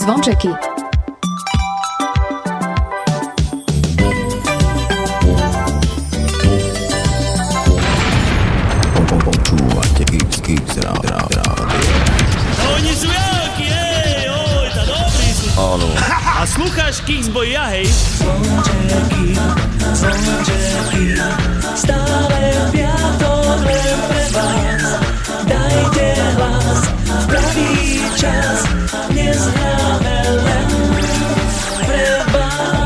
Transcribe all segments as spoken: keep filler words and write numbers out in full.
zvončeky. Počúvate Kix, Kix, rádio. Oni sú veľkí, hej, oj, tá dobrý sú. Áno. A slúcháš Kix boj ja, hej? Zvončeky, zvončeky, stále piatok len pre vás. Dajte hlas v pravý čas, dnes hráme len pre vás.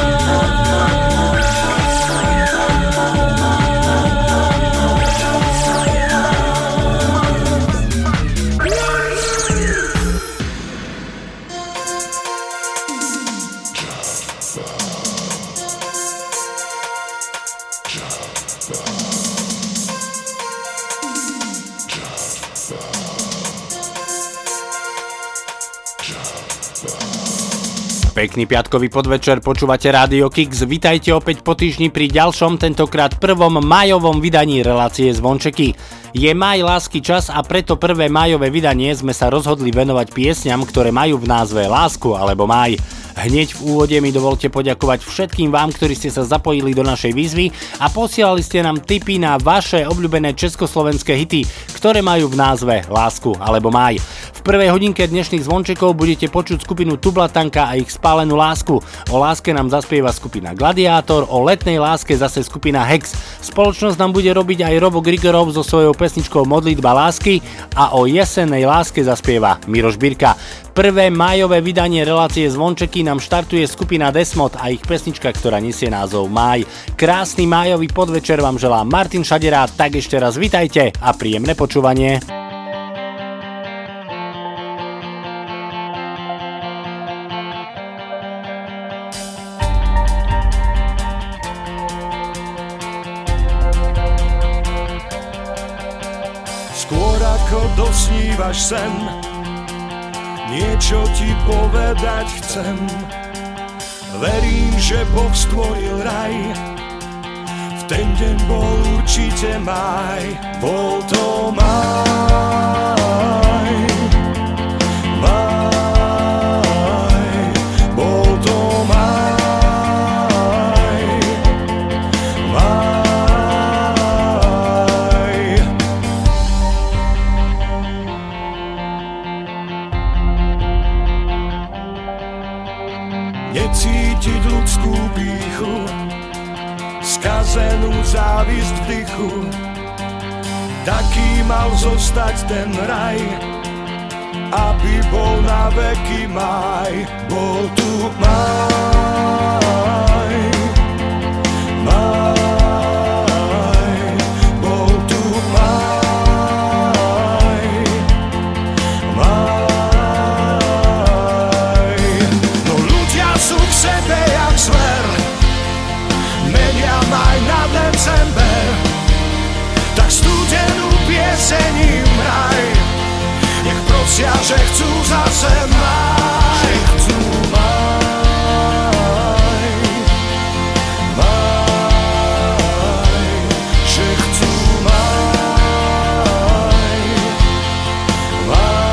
Pekný piatkový podvečer, počúvate Rádio Kix. Vitajte opäť po týždni pri ďalšom, tentokrát prvom májovom vydaní relácie Zvončeky. Je maj lásky čas a preto prvé májové vydanie sme sa rozhodli venovať piesňam, ktoré majú v názve lásku alebo máj. Hneď v úvode mi dovolte poďakovať všetkým vám, ktorí ste sa zapojili do našej výzvy a posielali ste nám tipy na vaše obľúbené československé hity, ktoré majú v názve lásku alebo máj. V prvej hodinke dnešných zvončekov budete počuť skupinu Tublatanka a ich Spálenú lásku. O láske nám zaspieva skupina Gladiátor, o letnej láske zase skupina Hex. Spoločnosť nám bude robiť aj Robo Grigorov so svojou pesničkou Modlitba lásky a o jesennej láske zaspieva Miroš Birka. Prvé májové vydanie relácie Zvončeky nám štartuje skupina Desmod a ich pesnička, ktorá nesie názov Máj. Krásny májový podvečer vám želá Martin Šadera, tak ešte raz vitajte a príjemné počúvanie. Dosnívaš sen, niečo ti povedať chcem. Verím, že Boh stvoril raj, v ten deň bol určite máj. Bol to máj, máj, bol to máj, máj. Necítiť ľudskú pýchu, skazenú závisť v dychu. Taký mal zostať ten raj, aby bol na veky máj. Bol tu máj, máj, bol tu máj, máj. Sú k sebe jak zver, menia maj na december, tak studenú pieseň im hraj, nech prosia, že chcú zase máj, že chcú máj, máj, že chcú máj, máj.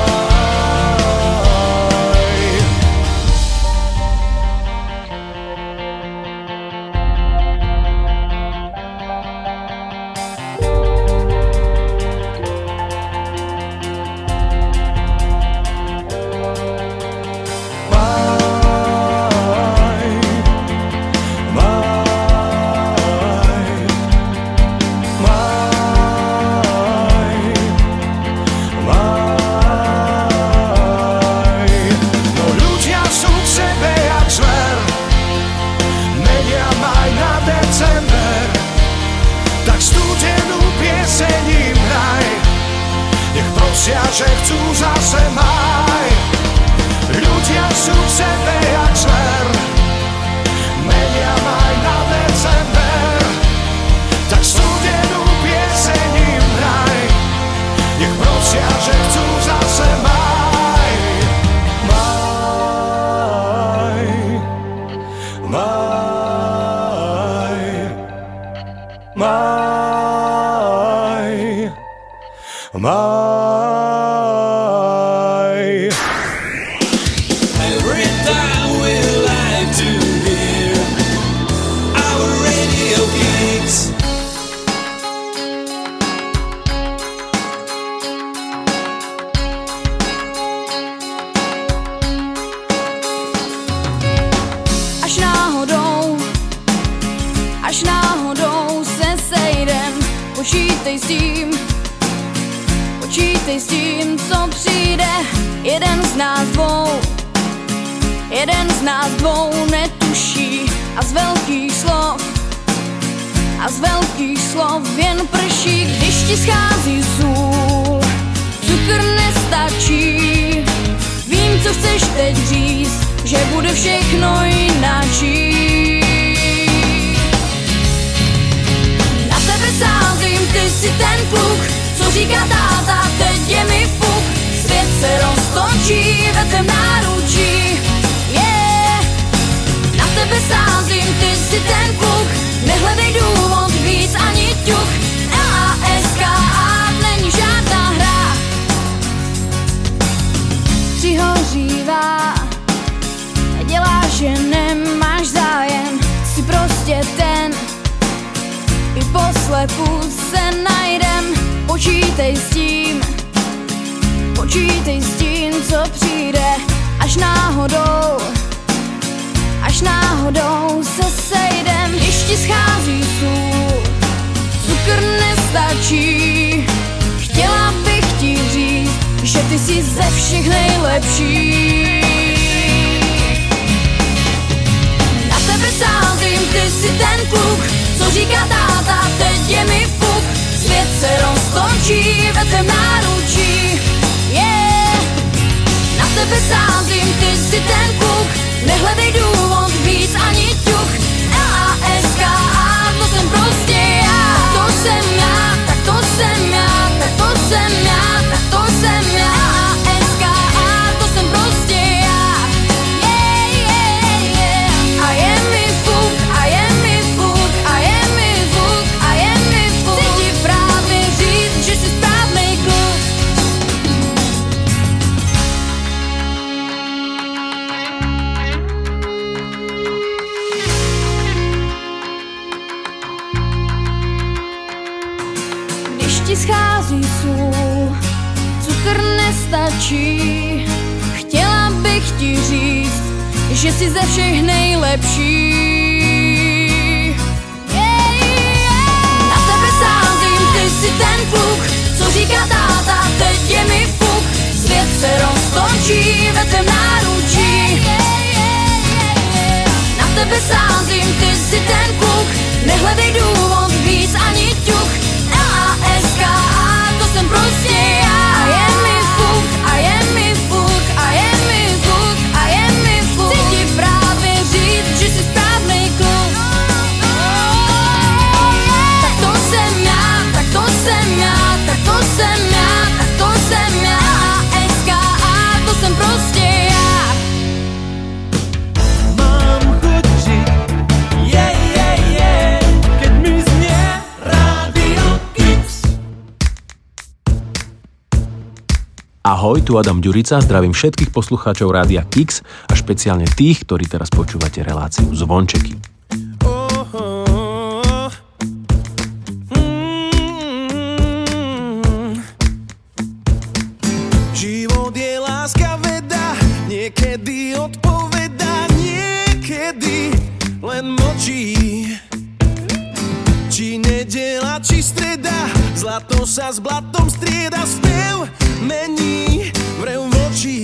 počítej s tím, počítej s tím, co přijde. Jeden z nás dvou, jeden z nás dvou netuší a z velkých slov, a z velkých slov jen prší, když ti schází sůl, cukr nestačí. Vím, co chceš teď říct, že bude všechno jinačí. Na tebe sázím, ty si ten kluk, co říká táta, teď je mi fuk. Svět se roztočí ve tvém náručí, yeah. Na tebe sázím, ty si ten kluk, nehledej důvod víc ani ťuk. L A S K A není žádná hra, přihořívá, dělá, že nemáš zájem, si prostě ten, i poslepu se najdem. Počítej s tím, počítej s tím, co přijde, až náhodou, až náhodou se sejdem. Když ti schází sůl, cukr nestačí, chtěla bych ti říct, že ty jsi ze všech nejlepší. Na tebe sázím, ty jsi ten kluk, co říká táta, teď je mi fuk. Svět se roztočí ve tvém náručí, yeah. Na tebe sázím, ty jsi ten kluk, nehledej důvod víc ani ťuk. L A S K A, to jsem prostě já. Tak to jsem já, tak to jsem já, tak to jsem já, tak to jsem já. L A S K A, to jsem prostě já, yeah, yeah, yeah. A je mi fuk, a je mi fuk, a je mi fuk, a je mi fuk. Chci ti právě říct, že jsi správnej kluk. Když ti schází sůl, cukr nestačí, chtěla bych ti říct, že jsi ze všech nejlepší. Yeah, yeah. Na tebe sázím, ty jsi ten kluk, co říká táta, teď je mi fuk. Svět se roztočí ve tvém náručí, yeah, yeah, yeah. Na tebe sázím, ty jsi ten kluk, nehledej důvod víc ani ťuk. L A S K A, to jsem prostě já. A je mi fuk, a je mi fuk, a je mi fuk, a je mi fuk. Chci ti právě říct, že jsi správnej kluk. Tak to jsem já, tak to jsem já, tak to jsem já, tak to jsem já. L A S K A, to jsem prostě já. Mám chuť žiť, yeah, yeah, yeah, keď mi znie Rádio Kix. Ahoj, tu Adam Ďurica, zdravím všetkých poslucháčov Rádia Kix a špeciálne tých, ktorí teraz počúvate reláciu Zvončeky. Život je láska, veda, niekedy odpovedá, niekedy len mlčí. Či nedeľa, či streda, zlato sa s blatom strieda, spev mení vrev vočí.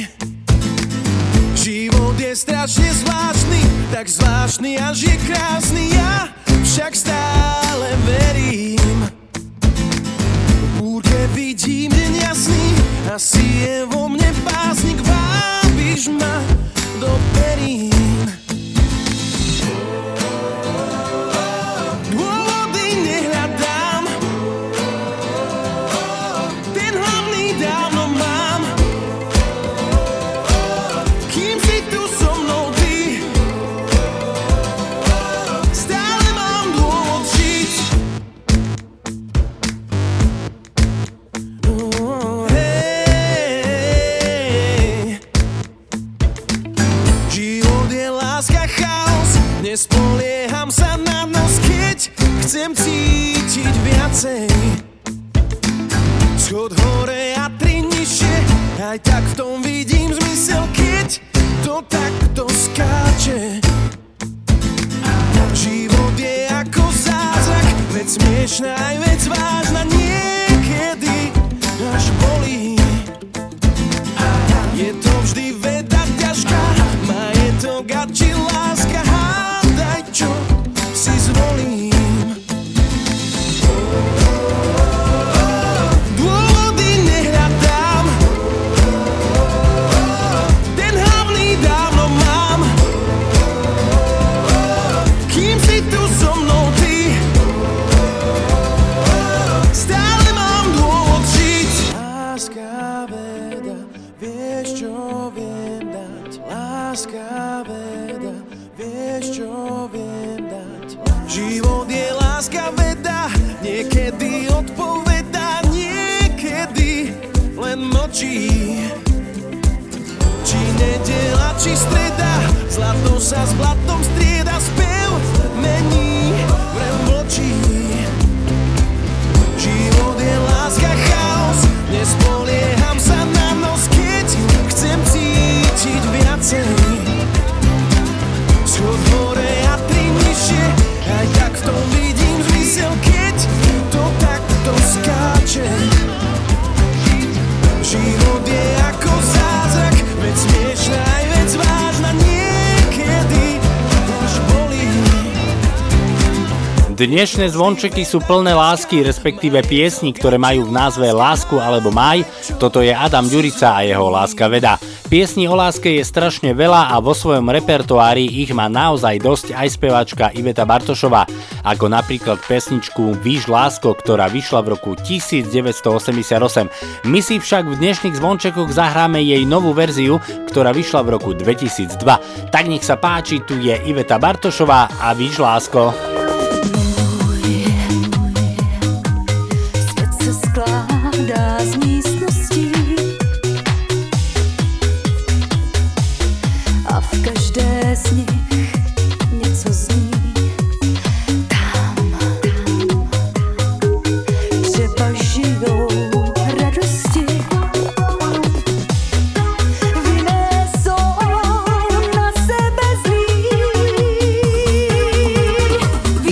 Život je strašne zvláštny, tak zvláštny, až je krásny, ja však stále verím. V búrke vidím deň jasný, asi je vo mne básnik, vábiš ma do perín. Dôvody nehľadám, ten hlavný dávno mám. Kým si tu so mnou ty, stále mám dôvod žiť. Hej, život je láska, chaos, nespolieham sa na nos, keď chcem cítiť viacej. Schod hore a tri nižšie, aj tak v tom vidím zmysel, keď to takto skáče. Život je ako zázrak, vec smiešná aj vec vážna, Vieš, čo viem dať, láska veda. Vieš, čo viem dať. Život je láska veda, niekedy odpovedá, niekedy len mlčí. Či nedeľa, či streda, zlato sa s blatom strieda, spev mení, vrem mlčí. Život je láska, chaos, nespolieham sa na nos, keď chcem cítiť viacej. Schod hore a tri nižšie, aj tak v tom vidím zmysel, keď to takto skáče. Život je ako zázrak, veď smiešná aj veď vážna, niekedy až bolí. Dnešné zvončeky sú plné lásky, respektíve piesni, ktoré majú v názve Lásku alebo Maj. Toto je Adam Ďurica a jeho Láska veda. Piesní o láske je strašne veľa a vo svojom repertoári ich má naozaj dosť aj speváčka Iveta Bartošová, ako napríklad pesničku Víš lásko, ktorá vyšla v roku devätnásťstoosemdesiatosem. My si však v dnešných zvončekoch zahráme jej novú verziu, ktorá vyšla v roku dvetisícdva. Tak nech sa páči, tu je Iveta Bartošová a Víš lásko. Svět se skládá z místností a v každé z nich něco zní. Tam třeba žijou radosti, v jiné jsou na sebe zlí.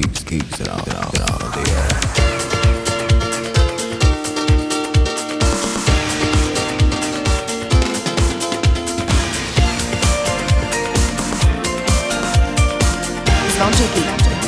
Kicks, Kicks Radio. Zvončeky.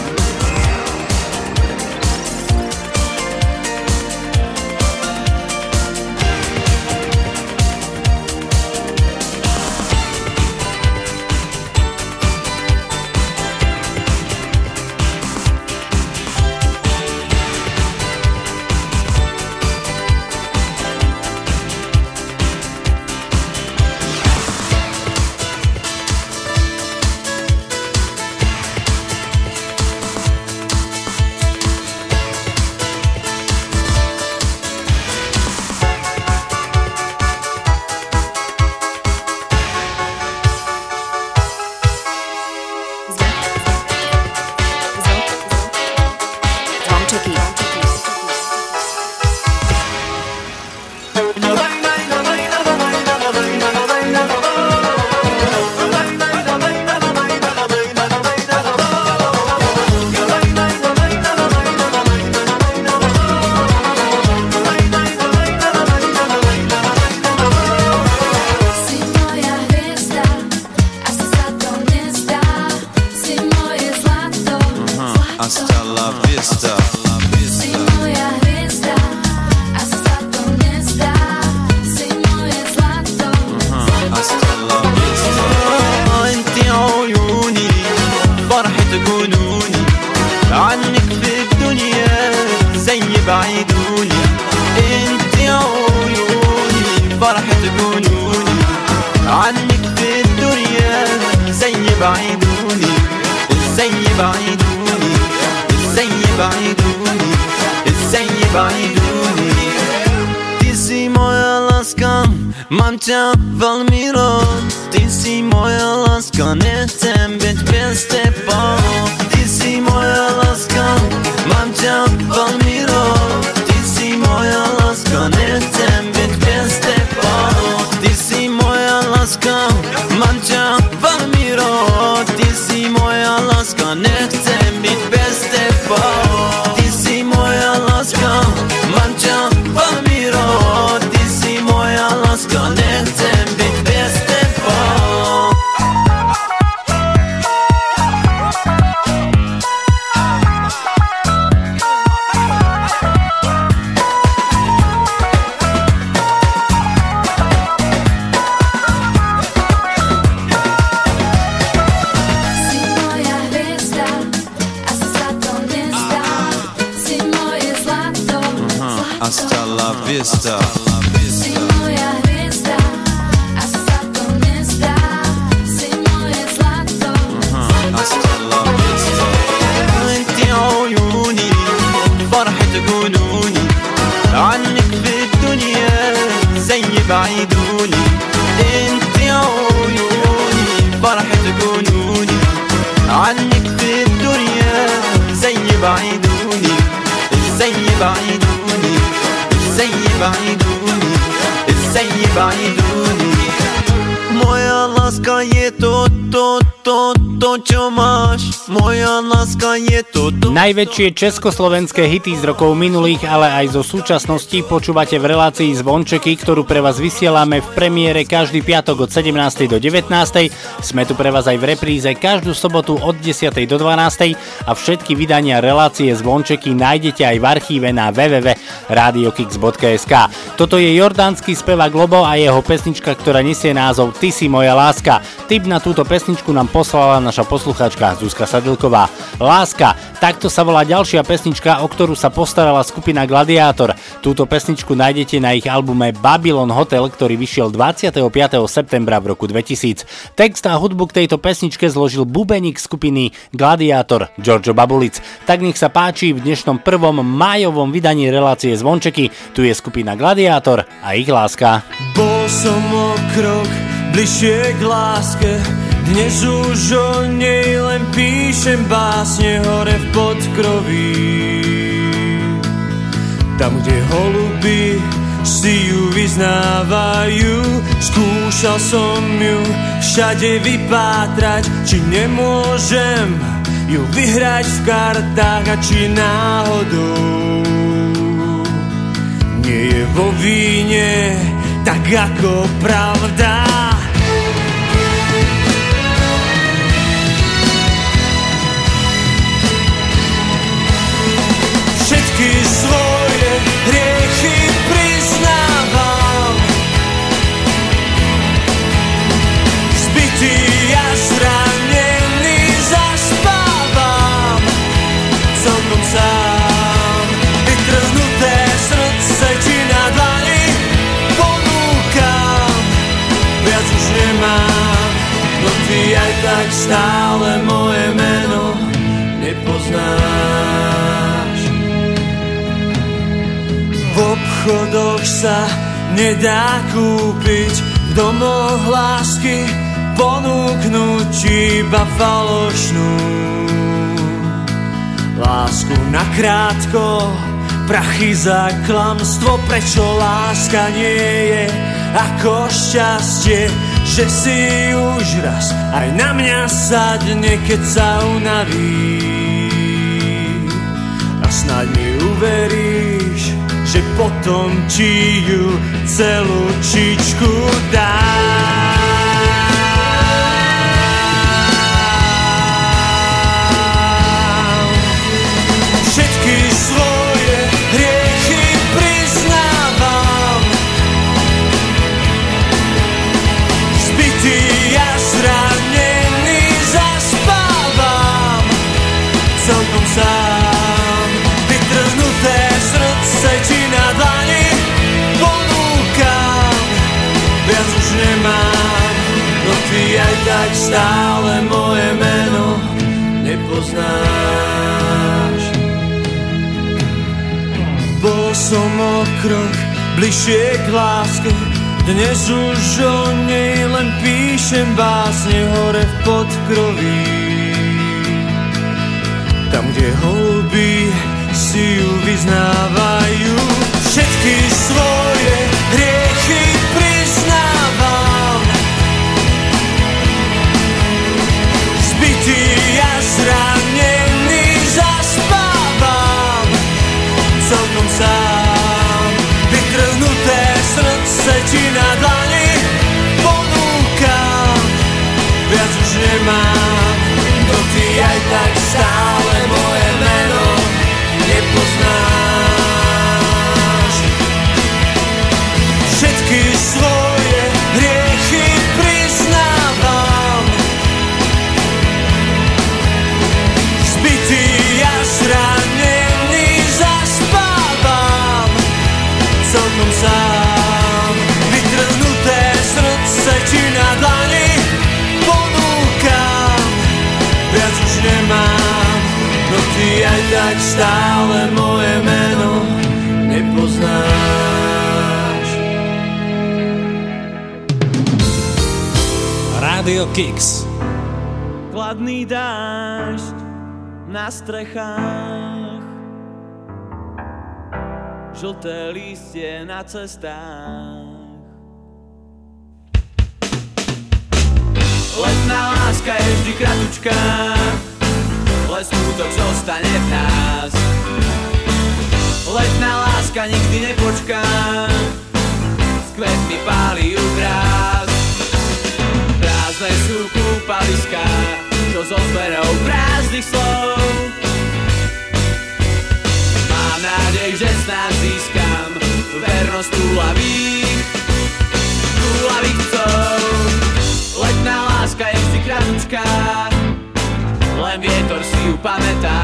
Najväčšie československé hity z rokov minulých, ale aj zo súčasnosti počúvate v relácii Zvončeky, ktorú pre vás vysielame v premiére každý piatok od sedemnástej do devätnástej. Sme tu pre vás aj v repríze každú sobotu od desiatej do dvanástej a všetky vydania relácie Zvončeky nájdete aj v archíve na w w w bodka radio kicks bodka es ka. Toto je jordánsky spevák Lobo a jeho pesnička, ktorá nesie názov Ty si moja láska. Tip na túto pesničku nám poslala naša poslucháčka Zuzka Sadilková. Láska, takto sa volá ďalšia pesnička, o ktorú sa postarala skupina Gladiátor. Túto pesničku nájdete na ich albume Babylon Hotel, ktorý vyšiel dvadsiateho piateho septembra v roku dvetisíc. Text a hudbu k tejto pesničke zložil bubeník skupiny Gladiátor Giorgio Babulic. Tak nech sa páči v dnešnom prvom májovom vydaní relácie Zvončeky. Tu je skupina Gladiátor a ich Láska. Bol som o krok bližšie k láske, dnes už o nej len píšem básne hore v podkroví. Tam, kde holuby si ju vyznávajú, skúšal som ju všade vypátrať, či nemôžem ju vyhrať v kartách a či náhodou nie je vo víne tak ako pravda. Všetky svoje hriechy priznávam, zbytý a zranený zaspávam celkom sám. Vytrhnuté srdce ti na dlani ponúkam, viac už nemám, no ty aj tak stále moje meno nepoznáš. V obchodoch sa nedá kúpiť, v domoch lásky ponúknuť iba falošnú. Lásku nakrátko, prachy za klamstvo, prečo láska nie je ako šťastie, že si už raz aj na mňa sadne, keď sa unaví. A snáď mi uveríš, že potom ti ju celú čičku dám. Všetky svoje hriechy priznávam, zbytý a zranený zaspávam celkom sám. Vytrhnuté srdce ti na dlani ponúkam, viac už nemám, no ty aj tak stále moje meno nepoznáš. Bol som o krok bližšie k láske, dnes už o nej len píšem básne hore v podkroví. Tam, kde holuby si ju vyznávajú. Všetky svoje hriechy priznávam, zbytý a zranený zaspávam celkom sám. Vytrhnuté srdce ti na dlani ponúkam, viac už nemám, no ty aj tak stále moje meno nepoznáš. Všetky svoje hriechy priznávam, zbytý a zranený zaspávam celkom sám. Vytrhnuté srdce ti na dlani ponúkam, viac už nemám, no ty aj tak stále moje meno nepoznáš. Rádio Kix. Chladný dážď na strechách, žlté lístie na cestách. Letná láska je vždy kratučká, len smutok zostane v nás. Letná láska nikdy nepočká, s kvetmi páli ju vrás. Prázdne sú kúpaliská, čo so zberou prázdnych slov. Mám nádej, že snáď získam vernosť túlavých, túlavých chcov. Letná láska je vždy kratučká, len vietor si ju pamätá.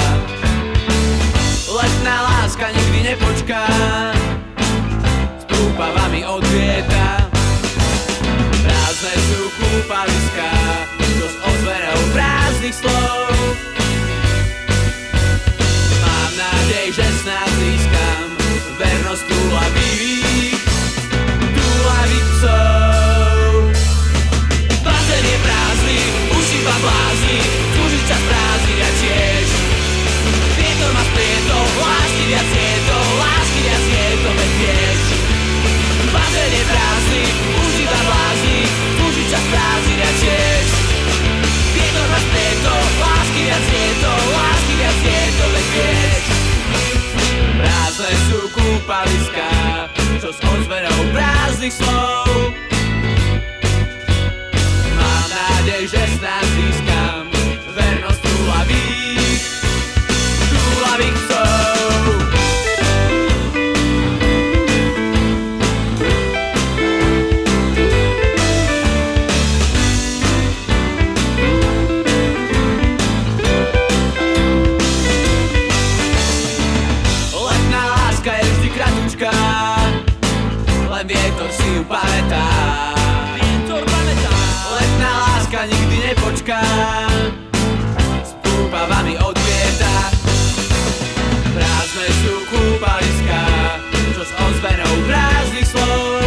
Letná láska nikdy nepočká, s prúpavami odvieta. Prázdne sú kúpaliská, čo s ozverou prázdnych slov. Mám nádej, že snáď získam vernosť túlavých, prázdnych slov. Mám nádej, že snad získam vernosť túlavých, túlavých chcov. Len vietor si ju pamätá, vietor pamätá. Letná láska nikdy nepočká, s púpavami odvieta. Prázdne sú kúpaliská, čo s ozvenou prázdnych slov.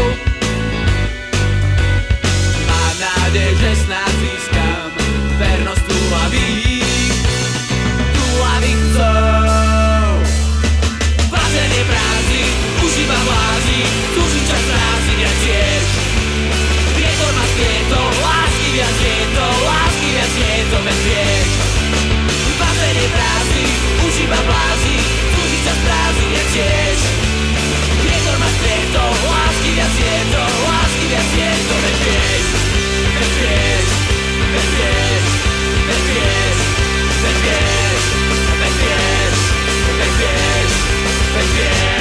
Mám nádej, že snáď získam vernosť túlavých, túlavých chcov. Bazén je prázdny, už iba vlázi, túži čas prázdny viac tiež. Vietor ma spietol, lásky viac je to, lásky viac je to, veď vieš. Bazén je prázdny, už iba vlázi, túži čas prázdny viac tiež. Vietor ma spietol, lásky viac je to, lásky viac je to, veď vieš. Veď vieš, veď vieš, veď vieš, veď vieš, veď vieš, veď vieš, veď vieš.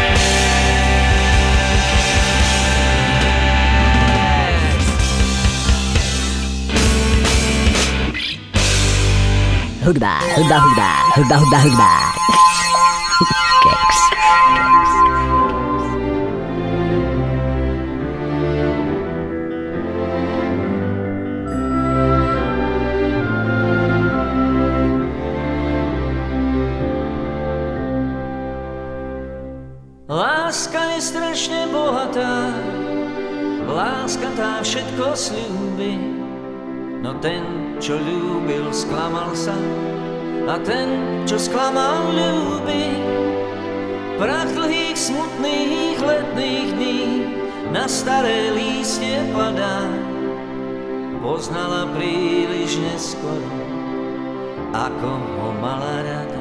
Hudba, hudba, hudba, hudba, hudba, hudba. Keks. Láska je strašne bohatá, láska tá všetko sľúbi. No ten, čo ľúbil, sklamal sa, a ten, čo sklamal, ľúbi. Prach dlhých, smutných letných dní na staré lístie padá. Poznala príliš neskoro, ako ho mala rada.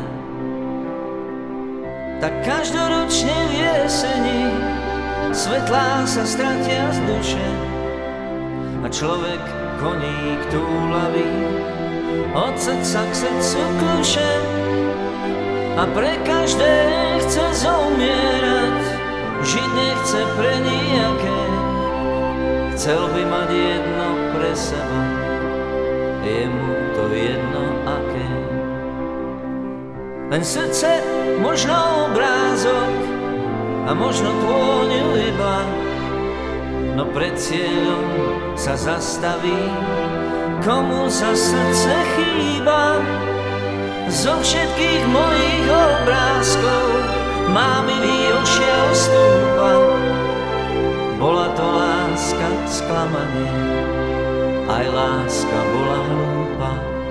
Tak každoročne v jeseni svetlá sa stratia z duše a človek koník túlavý od srdca k srdcu kľúče a pre každé chce zomierať, žiť nechce pre nijaké, chcel by mať jedno pre seba, je mu to jedno aké. Len srdce, možno obrázok a možno tvôňu iba, no pred cieľom sa zastaví, komu za srdce chýba. Zo všetkých mojich obrázkov má milý ošiel stúpa. Bola to láska sklamanie, aj láska bola hlúpa.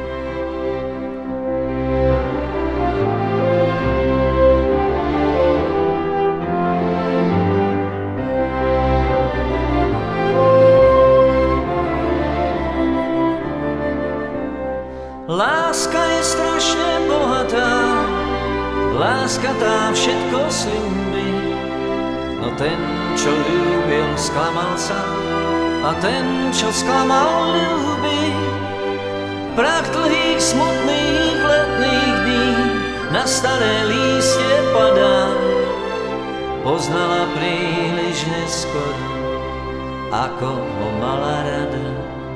Láska je strašne bohatá, láska tá všetko sľúbi. No ten, čo ľúbil, sklamal sa, a ten, čo sklamal, ľúbi. Prach dlhých, smutných letných dní na staré lístie padá. Poznala príliš neskoro, ako ho mala rada.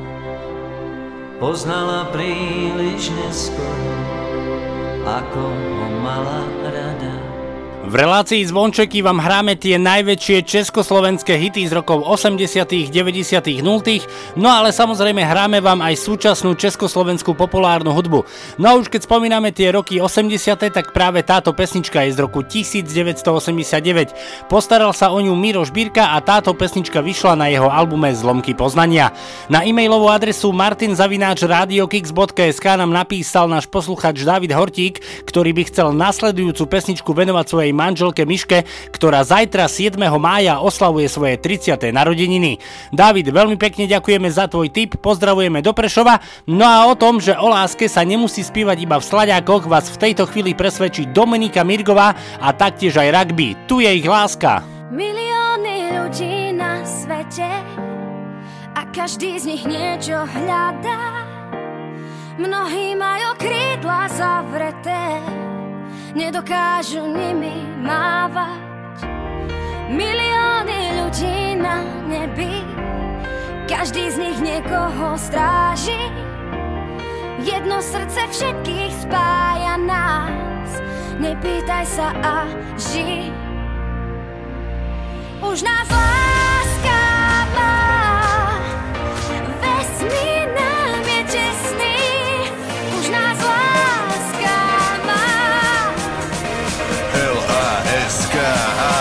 Poznala príliš neskoro, ako ho mala rada. V relácii Zvončeky vám hráme tie najväčšie československé hity z rokov osemdesiatych, deväťdesiatych, nultých, no ale samozrejme hráme vám aj súčasnú československú populárnu hudbu. No a už keď spomíname tie roky osemdesiate, tak práve táto pesnička je z roku devätnásťstoosemdesiatdeväť. Postaral sa o ňu Miro Žbírka a táto pesnička vyšla na jeho albume Zlomky poznania. Na e-mailovú adresu martin zavináč radiokix bodka es ká nám napísal náš posluchač David Hortík, ktorý by chcel nasledujúcu pesničku venovať svojej manželke Miške, ktorá zajtra siedmeho mája oslavuje svoje tridsiate narodeniny. Dávid, veľmi pekne ďakujeme za tvoj tip, pozdravujeme do Prešova. No a o tom, že o láske sa nemusí spívať iba v slaďákoch, vás v tejto chvíli presvedčí Dominika Mirgová a taktiež aj rugby. Tu je ich láska. Milióny ľudí nás každý z nich niečo hľadá. Mnohí majú krídla zavreté, nedokážu nimi mávať. Milióny ľudí na nebi, každý z nich niekoho stráži. Jedno srdce všetkých spája nás, nepýtaj sa a ži. Už nás láska má, vesmír nám je tesný. Už nás láska má. L A S K A.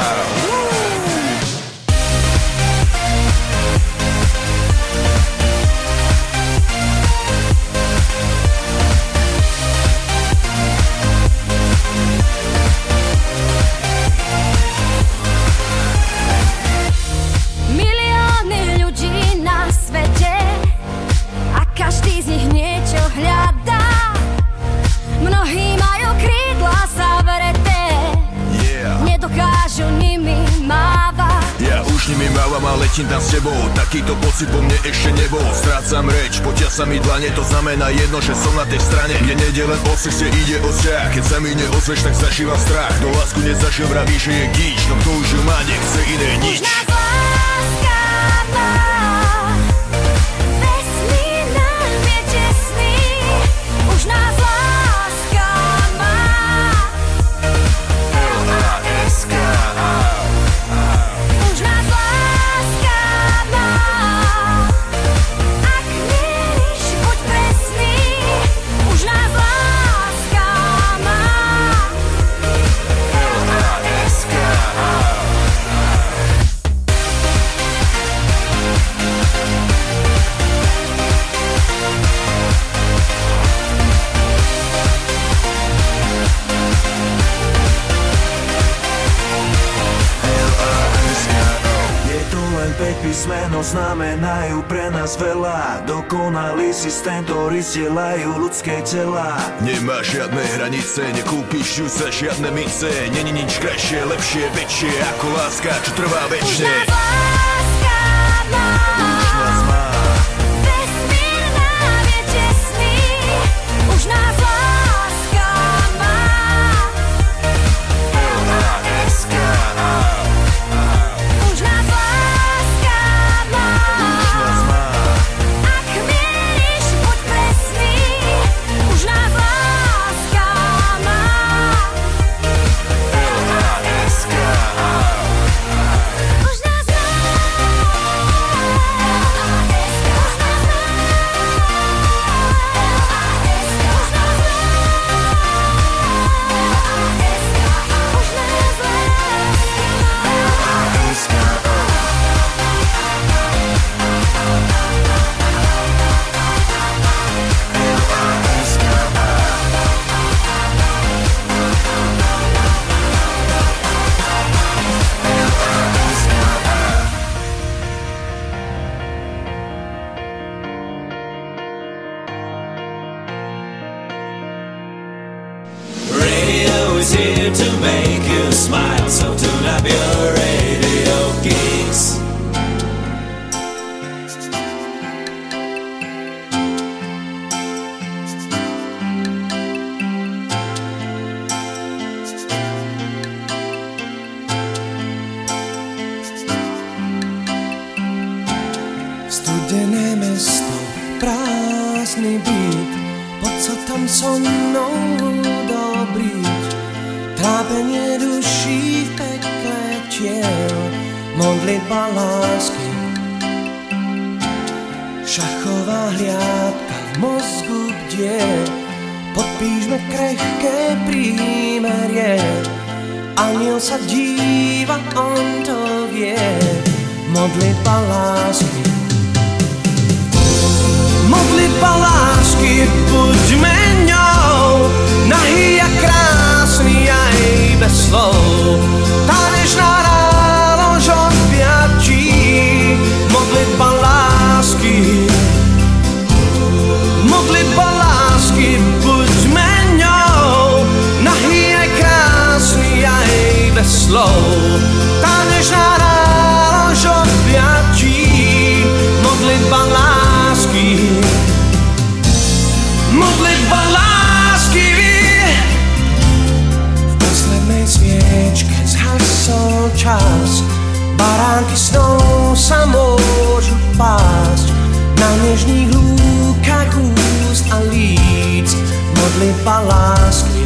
Každý z nich niečo hľadá. Mnohí majú krídla zavreté, yeah. Nedokážu nimi mávať. Ja už nimi mávam a letím tam s tebou. Takýto pocit po mne ešte nebol. Strácam reč, potia sa mi dlane. To znamená jedno, že som na tej strane, kde nejde len o sex, kde ide o vzťah. Keď sa mi neozveš, tak zažívam strach. No lásku nezažil, vraví, že je gíč. No kto už ju má, nechce iné nič. Už nás láska má. Už nás láska má. L A S K A. Už nás láska má. Ak mieríš, buď presný. Už nás láska má. L A S K A. päť písmeno znamenajú pre nás veľa. Dokonalý systém, ktorý stielajú ľudské tela. Nemá žiadne hranice, nekúpiš ju za žiadne mince. Není nič krajšie, lepšie, väčšie ako láska, čo trvá večne. Už nás láska má. Už nás má. Vesmír nám je tesný. Už nás láska má. L A S K A. Už nás láska má. Už nás má. Ak mieríš, buď presný. Už nás láska má. L A S K A. Už nás má. Radio is here to make you smile, so tune up your radio geeks. Studené mesto, prázdny byt, poď sa tam so mnou dobriť. Trápenie duší v pekle tiel, modlitba lásky. Šachová hliadka v mozgu bdie, podpíšme krehké prímerie. Aniel sa díva, on to vie, modlitba lásky. Modlitba lásky, buďme ňou, nahý a krásny aj bez slov. Tanečná rálož odpiatí, modlitba lásky. Modlitba lásky, buďme ňou, nahý aj krásny aj bez slov. Tanečná rálož odpiatí, modlitba sviečke zhasol čas, baránky snou sa môžu pásť na nežných lúkach úst a líc, modlitba lásky.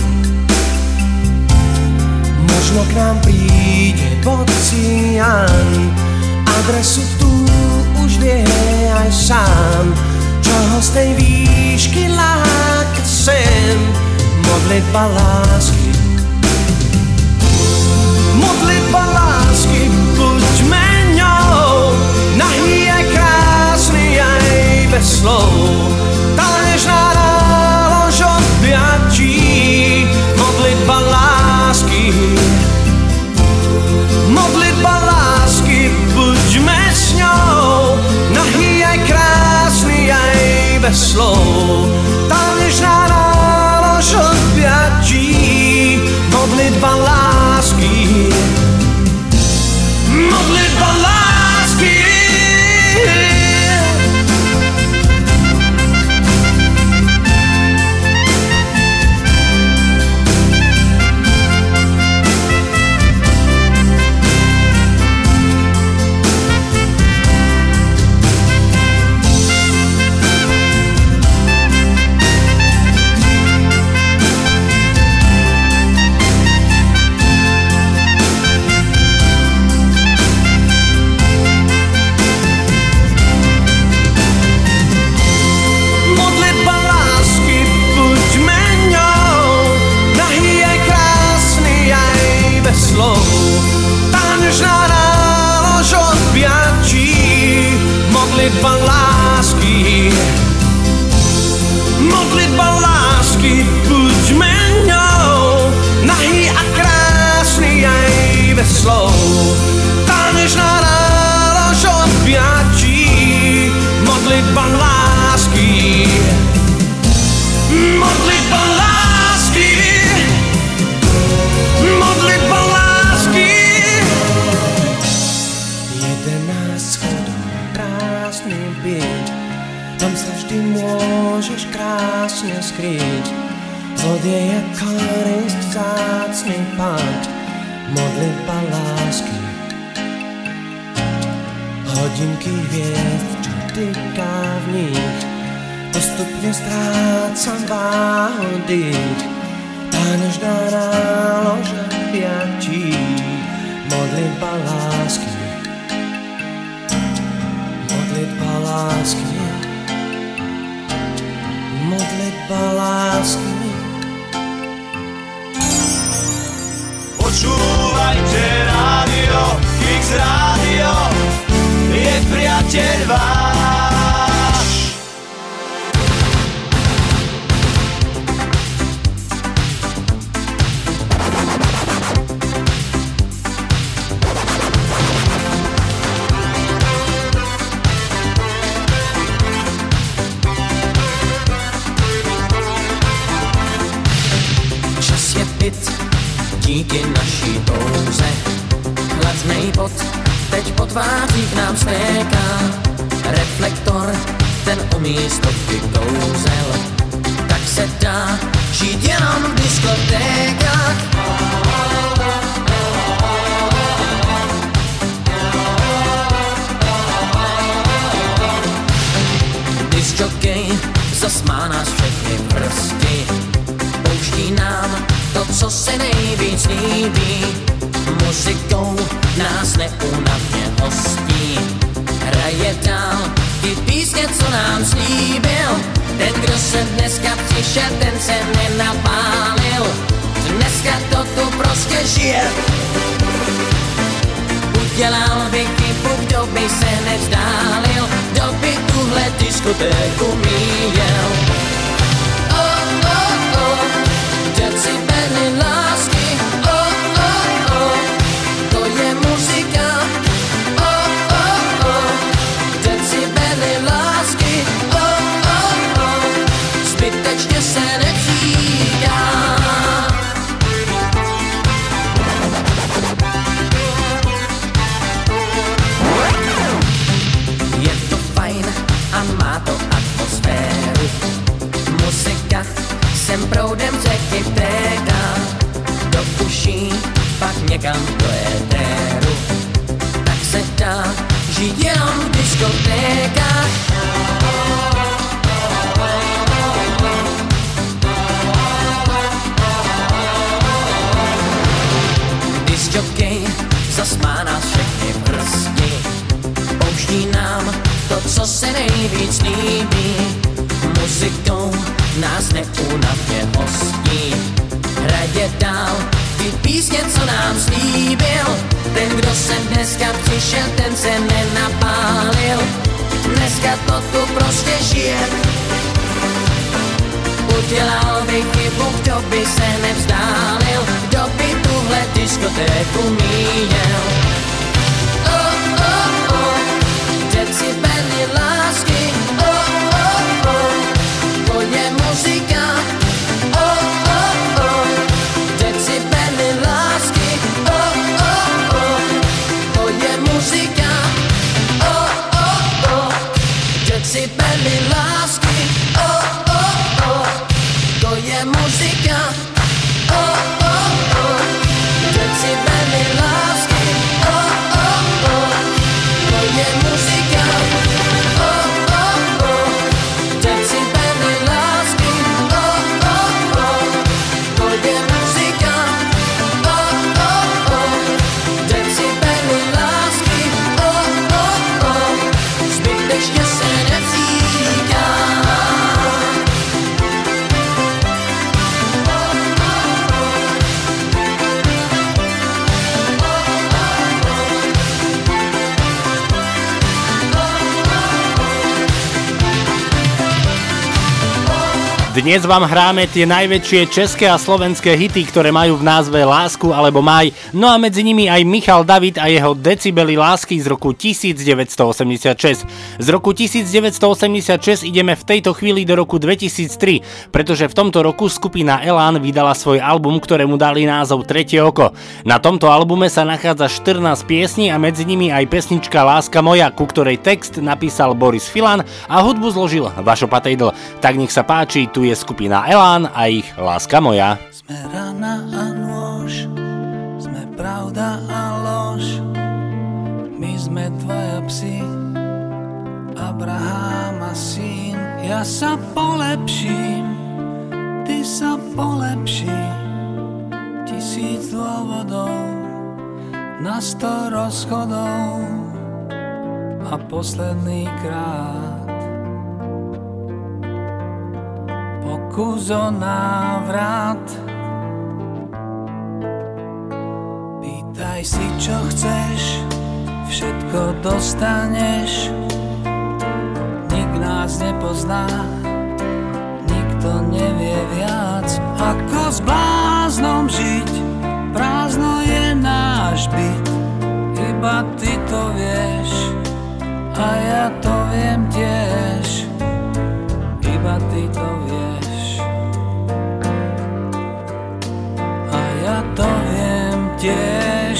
Možno k nám príde Bocian, adresu tu už vie aj sám, čo ho z tej výšky láka sem, modlitba lásky. Modlitba lásky, buďme ňou, nahý aj krásny aj bez slov, tá nežná nálož objatí, modlitba lásky. Modlitba lásky, buďme s ňou, nahý aj krásny aj bez slov, tá nežná nálož objatí, modlitba lásky. Modlitba lásky. Modlitba lásky, modlitba lásky, buďme ňou, nahý a krásny aj bez slov, tá nežná nálož objatí, modlitba lásky, modlitba lásky, modlitba lásky. Jedenáct schodov krásny byť, tam sa vždy môžeš krásne skryť, zlodej je korisť vzácny pakt, modlitba lásky. Hodinky hviezd, čo tyká v nich, postupne strácam váhu dých, tá nežná nálož objatí, modlitba lásky. Modlitba lásky, modlitba lásky. Počúvajte rádio, Kix rádio, je priateľ váš. Díky naší touze hladnej bod teď po tvářích nám stéká, reflektor ten umí stovky kouzel, tak se dá žít jenom v diskotékách. Disjokej zas má nás všechny v prsti, pouští nám to, co se nejvíc líbí, muzikou nás neúnavně hostí. Hraje dál ty písně, co nám slíbil, ten, kdo se dneska přišel, ten se nenapálil. Dneska to tu prostě žije. Udělal by chybu, kdo by se nevzdálil, kdo by tuhle diskotéku míjel. Oh, oh, oh, decibely lásky, oh, oh, oh, to je muzika. Oh, oh, oh, decibely lásky, oh, oh, oh, zbytečně se nepříká. Je to fajn a má to atmosféru, muzika sem proudem řeky vtéká, někam do éteru. Tak se dá žít jenom v diskotékách. Disjokej zas má nás všechny v hrsti. Pouští nám to, co se nejvíc líbí. Muzikou nás neúnavně hostí. Hraje dál ty písně, co nám slíbil. Ten, kdo sem dneska přišel, ten se nenapálil. Dneska to tu prostě žije. Udělal by chybu, kdo by se nevzdálil, kdo by tuhle diskotéku míjel. Oh, oh, oh, decibely lásky. Oh, oh, oh, to je muzika. Oh, oh, oh, decibely lásky. Oh, oh, oh, to je muzika. Oh, oh, oh, decibely lásky. Oh, oh, oh, to je muzika. Oh, oh, oh, decibely lásky. Oh, oh, oh, to je muzika. Oh, oh, oh, decibely lásky. Oh, oh, oh, to je muzika. Oh, oh, oh, decibely lásky. Oh, oh, oh, zbytečně se necíká. Dnes vám hráme tie najväčšie české a slovenské hity, ktoré majú v názve Lásku alebo Maj. No a medzi nimi aj Michal David a jeho Decibely lásky z roku devätnásťstoosemdesiatšesť. Z roku devätnásťstoosemdesiatšesť ideme v tejto chvíli do roku dvetisíctri, pretože v tomto roku skupina Elán vydala svoj album, ktorému dali názov Tretie oko. Na tomto albume sa nachádza štrnásť piesní a medzi nimi aj pesnička Láska moja, ku ktorej text napísal Boris Filan a hudbu zložil Vašo Patejdl. Tak nech sa páči, tu je skupina Elán a ich Láska moja. Sme rana a nôž, sme pravda a lož, my sme dvaja psi, Abraham a syn. Ja sa polepším, ty sa polepší, tisíc dôvodov, na sto rozchodov a posledný krát pokus o návrat. Pýtaj si, čo chceš, všetko dostaneš. Nik nás nepozná, nikto nevie viac, ako s bláznom žiť. Prázdno je náš byt, iba ty to vieš a ja to viem tiež, iba ty to vieš a ja to viem tiež.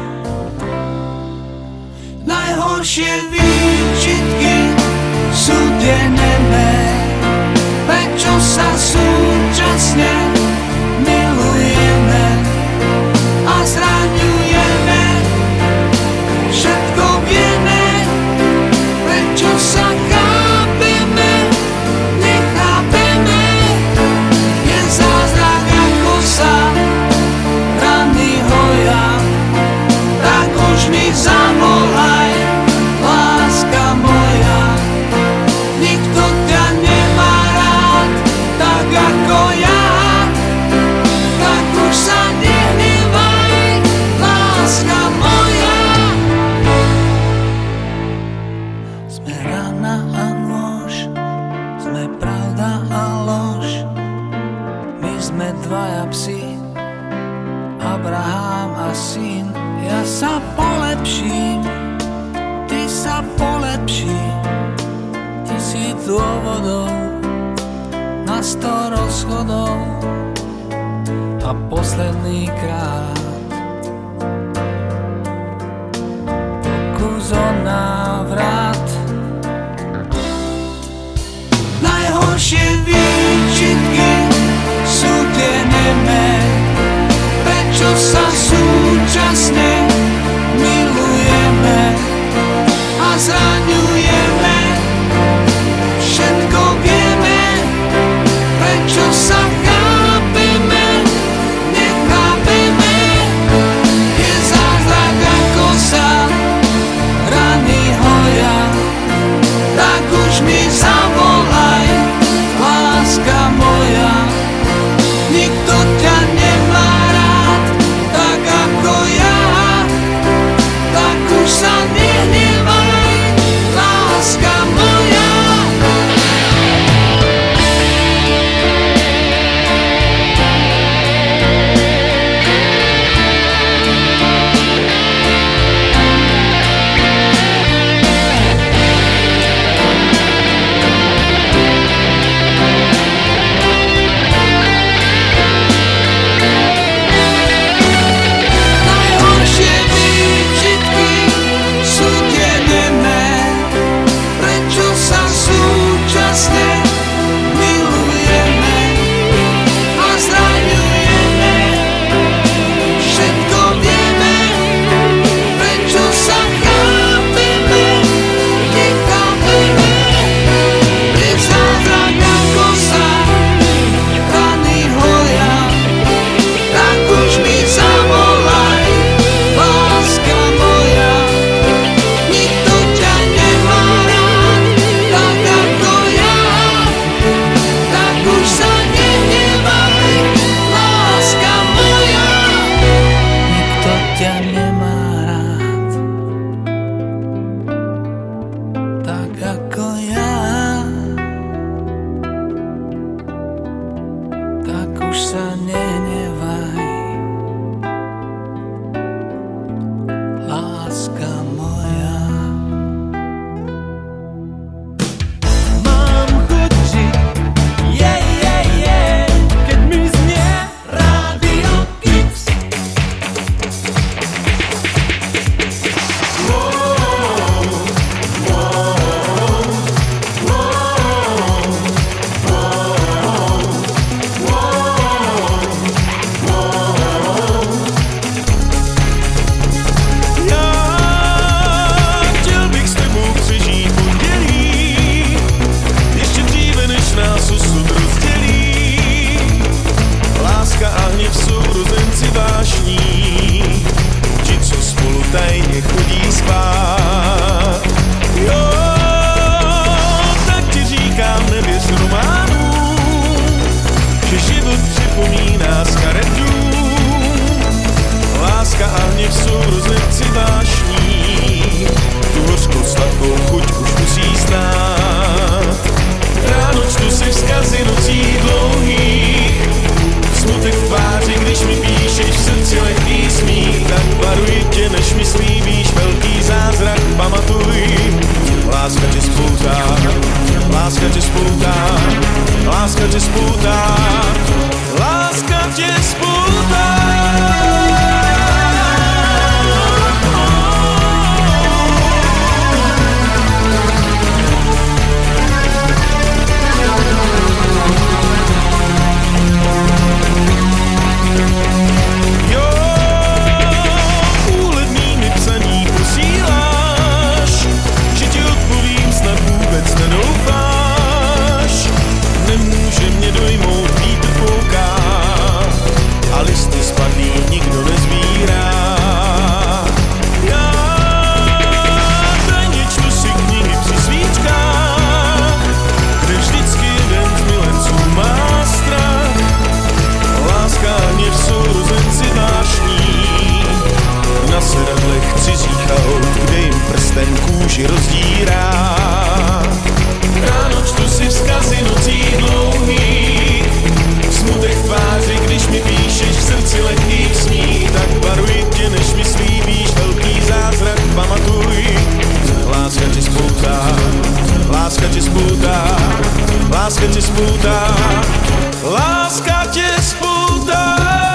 Najhoršie výčitky sú tie nemé, prečo sa súčasne milujeme a zraňujeme, všetko vieme, prečo sa chápeme, nechápeme, je zázrak ako sa rany hoja, tak už mi zavolaj, láska moja, nikto ťa nemá rád, tak ako ja, tak už sa nehnevaj, láska moja. Sme rana a nôž, sme pravda a lož, my sme dvaja psi, Abraham a syn. Ja sa polepším, ty sa polepší, tisíc dôvodov, na sto rozchodov a posledný krát pokus o návrat. Najhoršie výčitky sú tie nemé, prečo sa súčasne ťa nemá rád tak ako ja, tak už sa nenevaj, láska moja. Mám chuť žiť, je, je, je, keď mi znie Rádio Kix. Tajne chodí spát. Jo, tak ti říkám, nevěř románů, že život připomíná z karet dům. Láska a hněv sourozenci vášní, tu hořkou sladkou chuť už musí znát. Ráno čtu si vzkazy nocí dlouhých, smutek v tváři, když mi píšeš v srdci lehký smích, tak varuji tě, než mi slíbíš velký zázrak, pamatuj. Láska tě spoutá, láska tě spoutá, láska tě spoutá, láska tě spoutá. Nedoufáš, nemůže mě dojmout vítr fouká a listy spadlý nikdo nezbírá. Já tajně čtu si knihy při svíčkách, kde vždycky jeden z milenců má strach. Láska a hněv sourozenci vášní, na sedadlech cizích aut, kde jim prsten kůži rozdírá. Ráno čtu si vzkazy nocí dlouhých, smutek v tváři, když mi píšeš v srdci lehkých smích, tak varuji tě, než mi slíbíš velký zázrak, pamatuj. Láska tě spoutá, láska tě spoutá, láska tě spoutá, láska tě spoutá.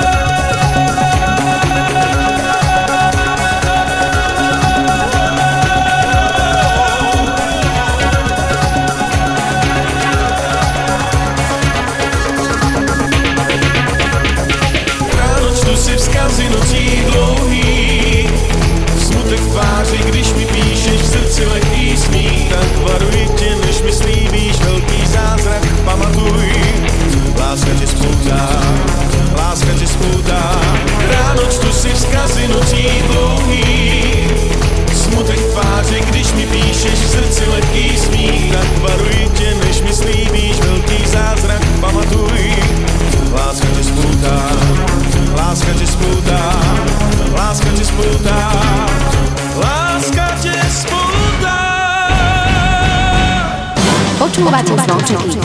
Vzkazy nocí dlouhých, smutek v tváři, když mi píšeš v srdci lehký smích, tak varuji tě, než mi slíbíš velký zázrak, pamatuj. Láska tě spoutá, láska tě spoutá, ráno čtu si vzkazy nocí dlouhých, smutek v tváři, když mi píšeš v srdci lehký smích, tak varuji tě, než mi slíbíš velký zázrak, pamatuj. Láska tě spoutá, láska tě spoutá, láska tě spoutá, láska tě spoutá. Počúvate Zvončeky.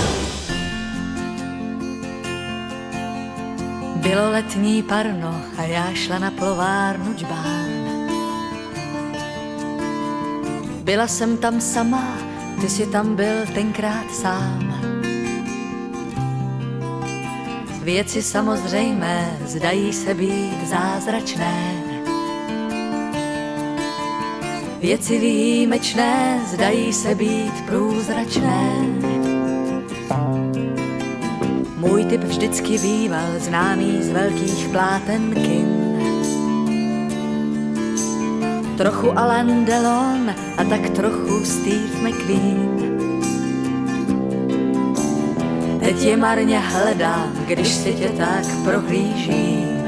Bylo letní parno a já šla na plovárnu džbán. Byla jsem tam sama, ty si tam byl tenkrát sám. Věci samozřejmé zdají se být zázračné. Věci výjimečné zdají se být průzračné. Můj typ vždycky býval známý z velkých pláten kin. Trochu Alain Delon a tak trochu Steve McQueen. Teď je marně hledám, když si tě tak prohlížím.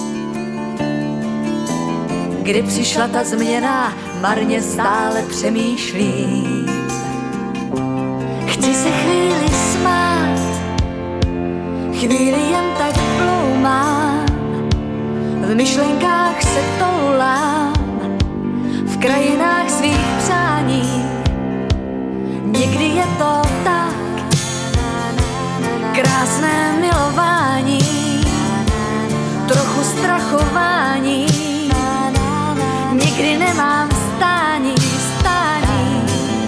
Kdy přišla ta změna, marně stále přemýšlím. Chci se chvíli smát, chvíli jen tak ploumám. v myšlenkách se toulám, v krajinách svých přání. Někdy je to tak, krásné milování, trochu strachování. Někdy nemám stání, stání.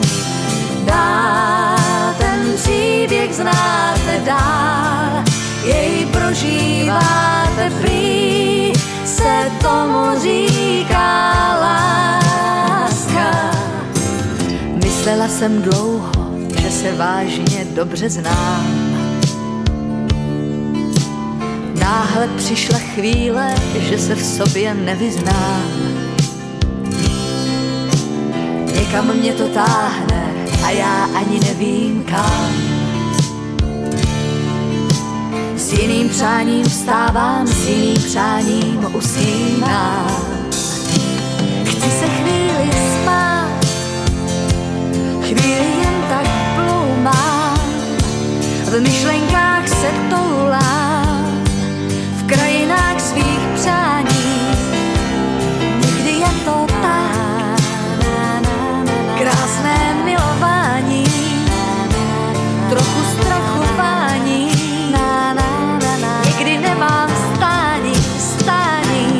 Dál ten příběh znáte dál, jej prožíváte prý, se tomu říká láska. Myslela jsem dlouho, že se vážně dobře znám. Náhle přišla chvíle, že se v sobě nevyznám. Někam mě to táhne a já ani nevím kam. S jiným přáním vstávám, s jiným přáním usínám. Chci se chvíli spát, chvíli jen tak ploumám, v myšlenkách se toulám, v krajinách svých přání. Někdy je to tak, krásné milování, trochu strachování. Někdy nemám stání, stání.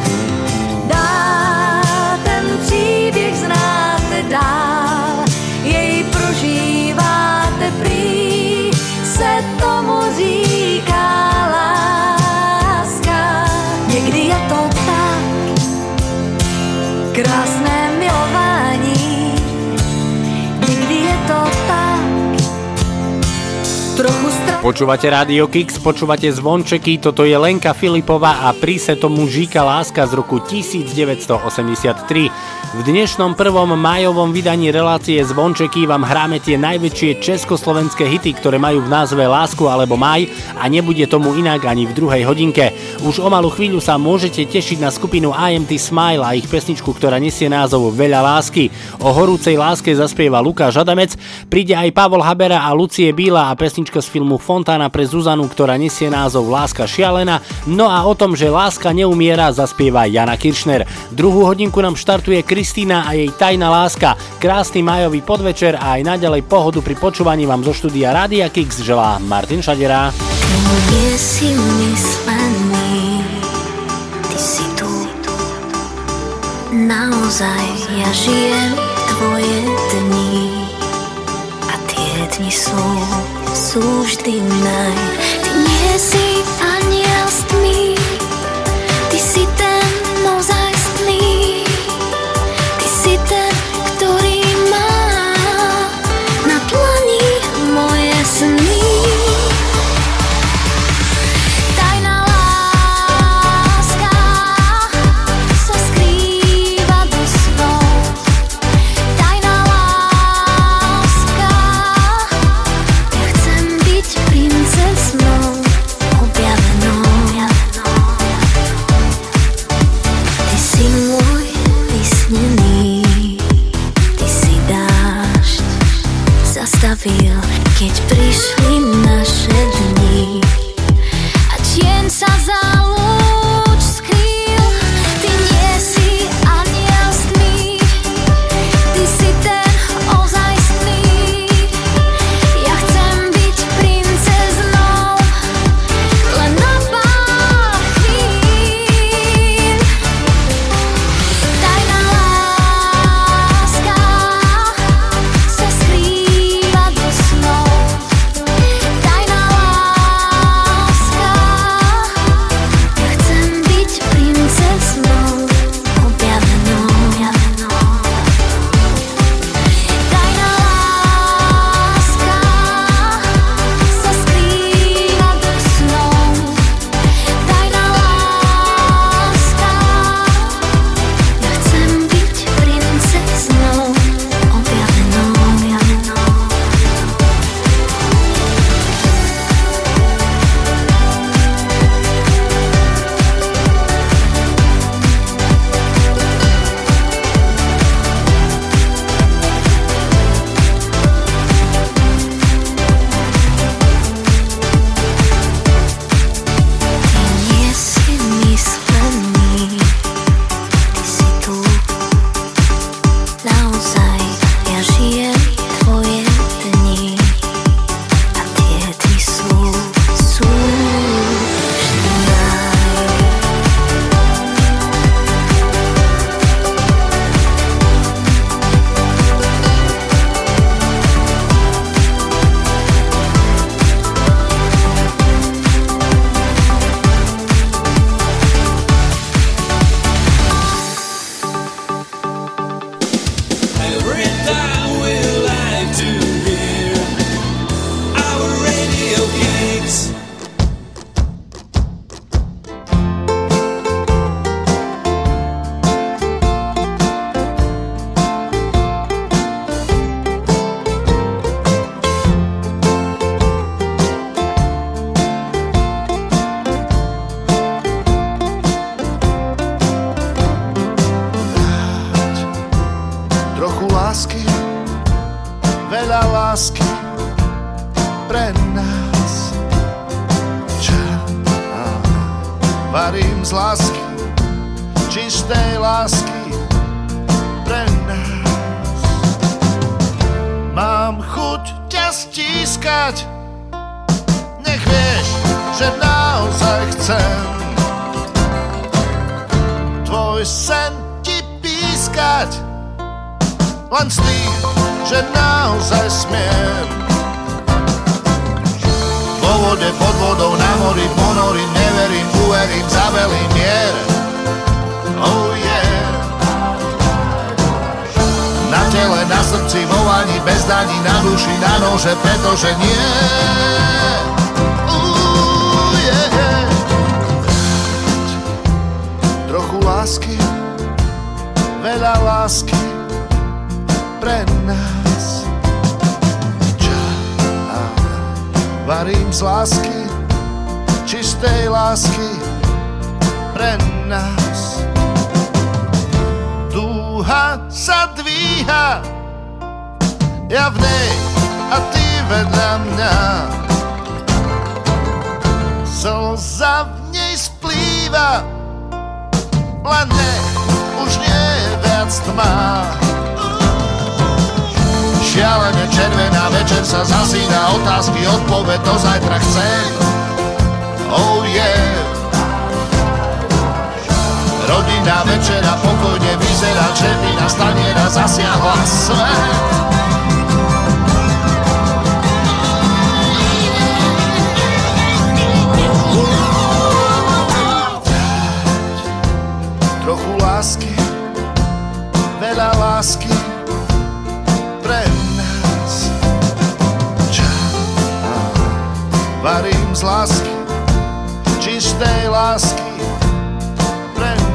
Dál ten příběh znáte dál, jej prožíváte prý, se tomu říká láska. Někdy je to tak, krásné milování. Někdy je to tak, trochu strach. Počúvate Rádio Kix, počúvate Zvončeky, toto je Lenka Filipová a pri se tomu žíka láska z roku devätnásťstoosemdesiattri. V dnešnom prvom májovom vydaní relácie Zvončeky vám hráme tie najväčšie československé hity, ktoré majú v názve Lásku alebo Maj a nebude tomu inak ani v druhej hodinke. Už o malú chvíľu sa môžete tešiť na skupinu I Am T Smile a ich pesničku, ktorá nesie názov Veľa lásky. O horúcej láske zaspieva Lukáš Adamec, príde aj Pavol Habera a Lucie Bíla a pesnička z filmu Fontána pre Zuzanu, ktorá nesie názov Láska šialená. No a o tom, že láska neumiera, zaspieva Jana Kiršner. Druhú hodinku nám štartuje Kristína a jej Tajná láska. Krásny májový podvečer a aj naďalej pohodu pri počúvaní vám zo štúdia Rádia Kix želá Martin Šadera. Nie si myslený, ty si tu. Naozaj ja žijem tvoje dni a tie dni sú sú vždy naj. Ty nie si aniel s tmy, ty si ten naozajstný, ty si ten, ktorý má na dlani moje sny. Tajná láska sa skrýva do snov. Tajná láska, ja chcem byť princeznou objavenou. lásky pre nás. Ča, varím z lásky, čistej lásky pre nás. Mám chuť ťa stískať, nech vieš, že naozaj chcem tvoj sen ti pískať, len s tým, že naozaj smiem. Vo vode, pod vodou, na mori, ponorím, neverím, uverím, zavelím mier. Oh yeah. Na tele, na srdci, vo vani, bez daní, na duši, na nože, pretože nie. Uh, yeah. Trochu lásky, veľa lásky pre nás. Ča, varím z lásky, čistej lásky pre nás. Dúha sa dvíha, ja v nej a ty vedľa mňa. Slza v nej splýva, len nech už nie je viac tma. Šialene červená, večer sa zasína, otázky, odpoveď do zajtra chcem. Oh yeah. Rodinná večera pokojne vyzerá, červená staniera zasiahla svet. Trochu lásky, veľa lásky pre nás. Ča, varím z lásky, čistej lásky pre nás.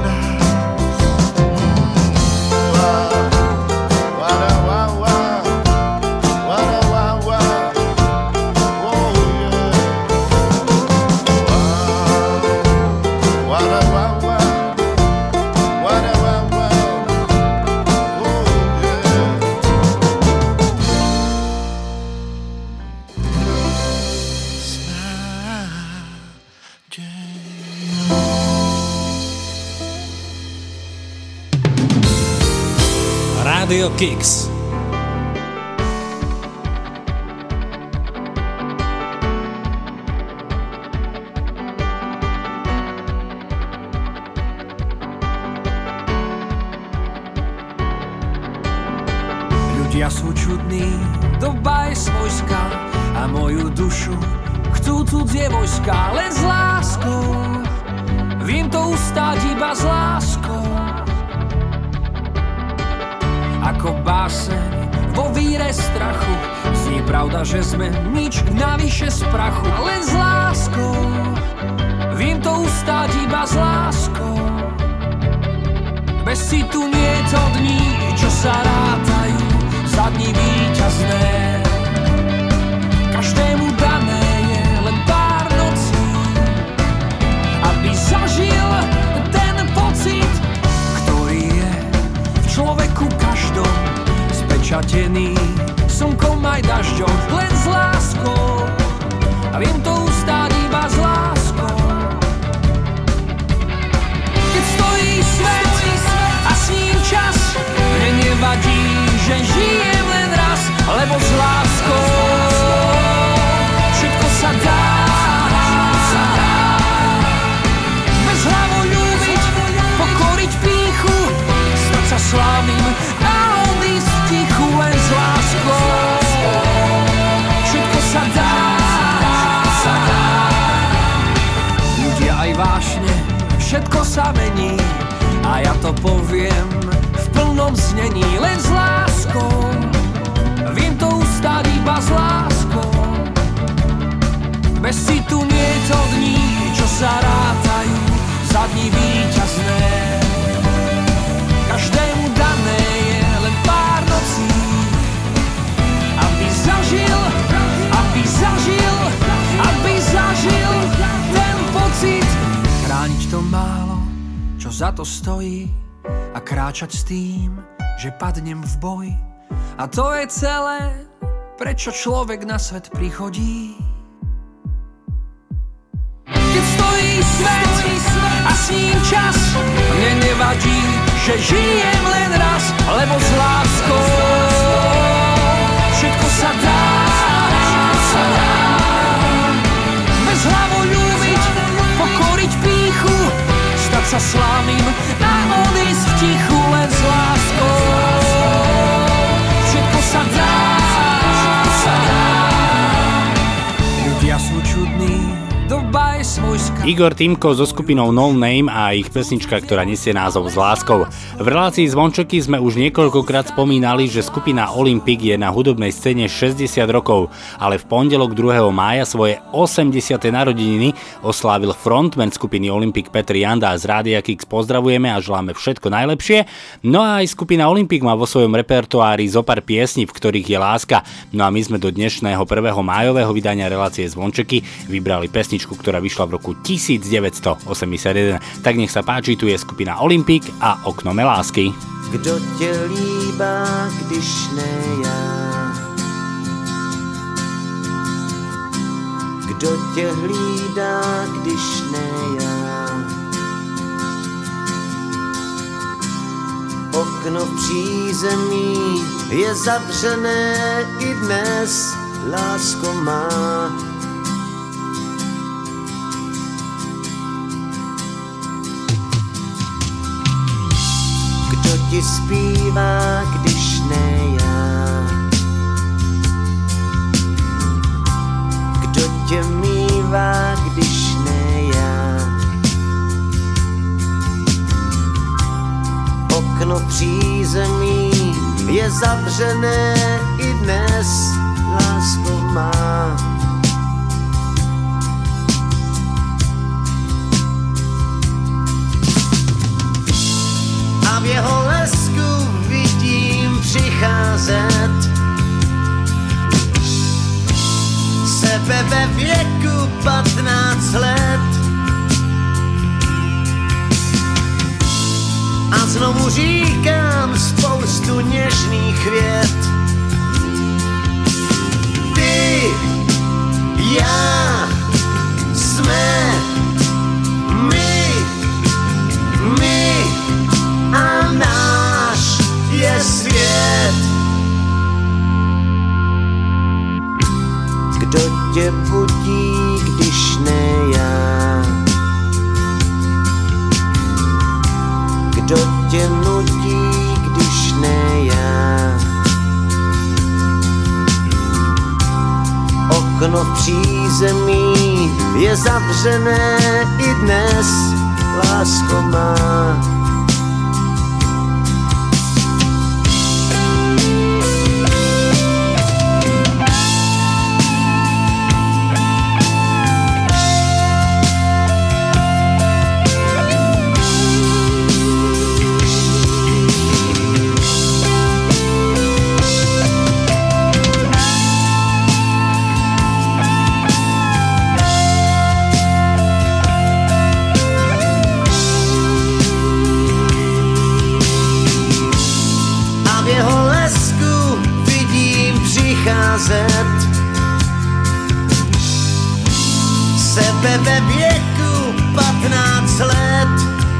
Radio Kicks. Ľudia sú čudní, doba je svojská a moju dušu chcú cudzie vojska, len s láskou. Vím to ustáť iba s láskou. Ako báseň vo víre strachu, znie pravda, že sme nič navyše z prachu, len s láskou. Vím to ustáť iba s láskou. Bez citu nie je to dní, čo sa rátajú za dní víťazné. Každému dané je len pár nocí, aby zažil ten pocit, ktorý je v človeku každom spečatený slnkom aj dažďom, len s láskou. A viem to ustáť iba s láskou. Keď stojí svet a s ním čas, mne nevadí, že žijem len raz, lebo s láskou všetko sa dá. Bez hlavo ľúbiť, pokoriť pýchu, stať sa slávnym a odísť tichu, len s láskou všetko sa dá. Ľudia aj vášne, všetko sa mení a ja to poviem v plnom znení, len s láskou. Viem to ustáť iba s láskou. Bez citu nie je to dní, čo sa rátajú za dní víťazné. Každému dané je len pár nocí, aby zažil, aby zažil, aby zažil ten pocit. Chrániť to málo, čo za to stojí, a kráčať s tým, že padnem v boji. A to je celé, prečo človek na svet prichodí. Keď stojí svet a s ním čas, mne nevadí, že žijem len raz, lebo s láskou všetko sa dá. Bez hlavo ľúbiť, pokoriť pýchu, stať sa slávnym a odísť v tichu, len s láskou všetko sa dá. Ľudia sú čudní, doba je svojská. Igor Týmko so skupinou No Name a ich pesnička, ktorá nesie názov S láskou. V relácii Zvončeky sme už niekoľkokrát spomínali, že skupina Olympic je na hudobnej scéne šesťdesiat rokov, ale v pondelok druhého mája svoje osemdesiate narodeniny oslávil frontman skupiny Olympic Petr Janda. Z Rádia Kix pozdravujeme a želáme všetko najlepšie. No a aj skupina Olympic má vo svojom repertoári zopár piesní, v ktorých je láska. No a my sme do dnešného prvého májového vydania relácie Zvončeky vybrali pesničku, ktorá vyšla v roku devätnásťstoosemdesiatjeden. Tak nech sa páči, tu je skupina Olympic a Okno mé lásky. Kdo tě líbá, když ne já? Kdo tě hlídá, když ne já? Okno v přízemí je zavřené i dnes, lásko má. Kdo ti zpívá, když ne já? Kdo tě mívá, když ne já? Okno přízemí je zavřené i dnes, lásko má. A v jeho lesku vidím přicházet sebe ve věku patnáct let. A znovu říkám spoustu něžných vět. Ty, já, jsme my, my a náš je svět. Kdo tě budí, když ne já? Kdo tě nudí, když ne já? Okno v přízemí je zavřené i dnes, lásko má. Sebe ve věku patnáct let.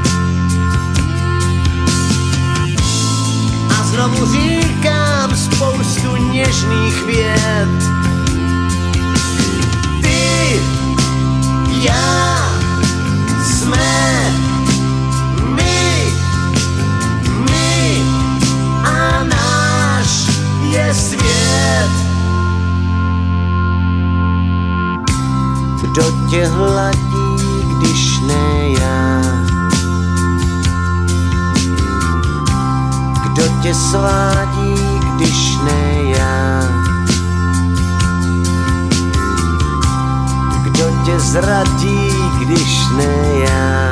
A znovu říkám spoustu něžných vět. Ty, já, jsme my, my a náš je svět. Kdo tě hladí, když ne já? Kdo tě svádí, když ne já? Kdo tě zradí, když ne já?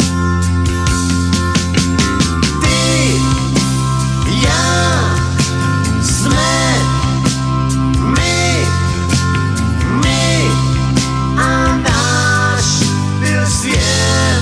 Ty, já, jsme my, my a náš byl svět.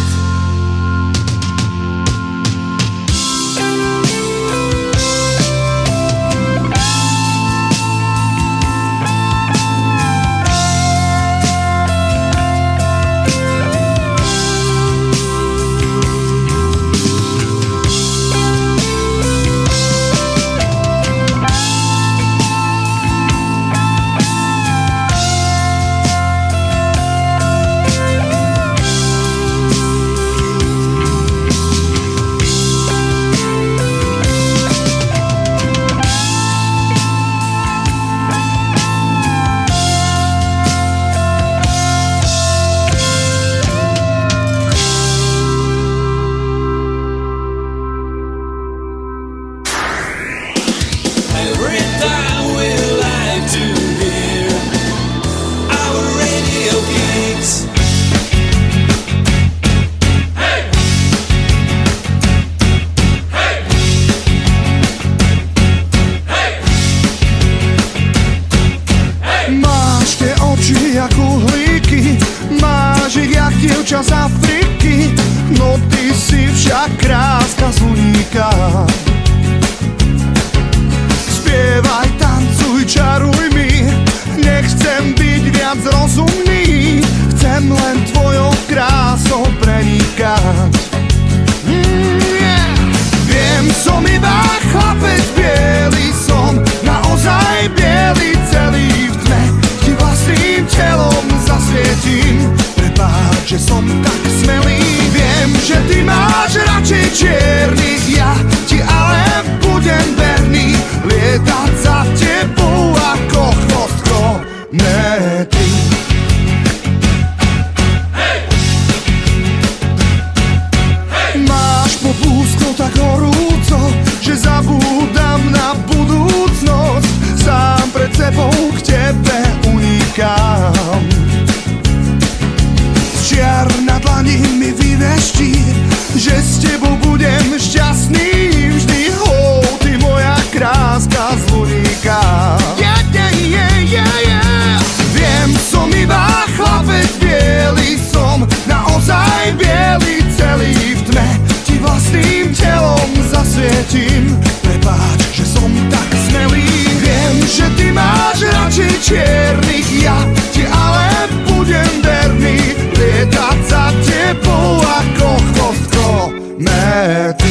kráska zvuníka. Spievaj, tancuj, čaruj mi, nechcem byť viac rozumný, chcem len tvojou krásou prenikať. Mm, yeah. Viem, som iba chlapec biely, som naozaj biely, celý v tme, ti vlastným telom zasvietím. Prepáč, že som tak smelý, viem, že ty máš radšej čiernych, ja ti ale budem verný, lietať za tebou ako chvostko metry. Hey! Hey! Máš popúsko tak horúco, že zabúdam na budúcnosť, sám pred sebou k tebe unikám. Čiar na dlani mi vyveští, že s tebou budem šťastný vždy. Oh, ty moja kráska zvoníka. Yeah, yeah, yeah, yeah, yeah. Viem, som iba chlapec biely, som naozaj biely, celý v tme, ti vlastným telom zasvietím. Prepáč, že som tak smelý, viem, že ty máš radšej čiernych, ja ti ale budem verný, lietať za tebou ako chvostko mety.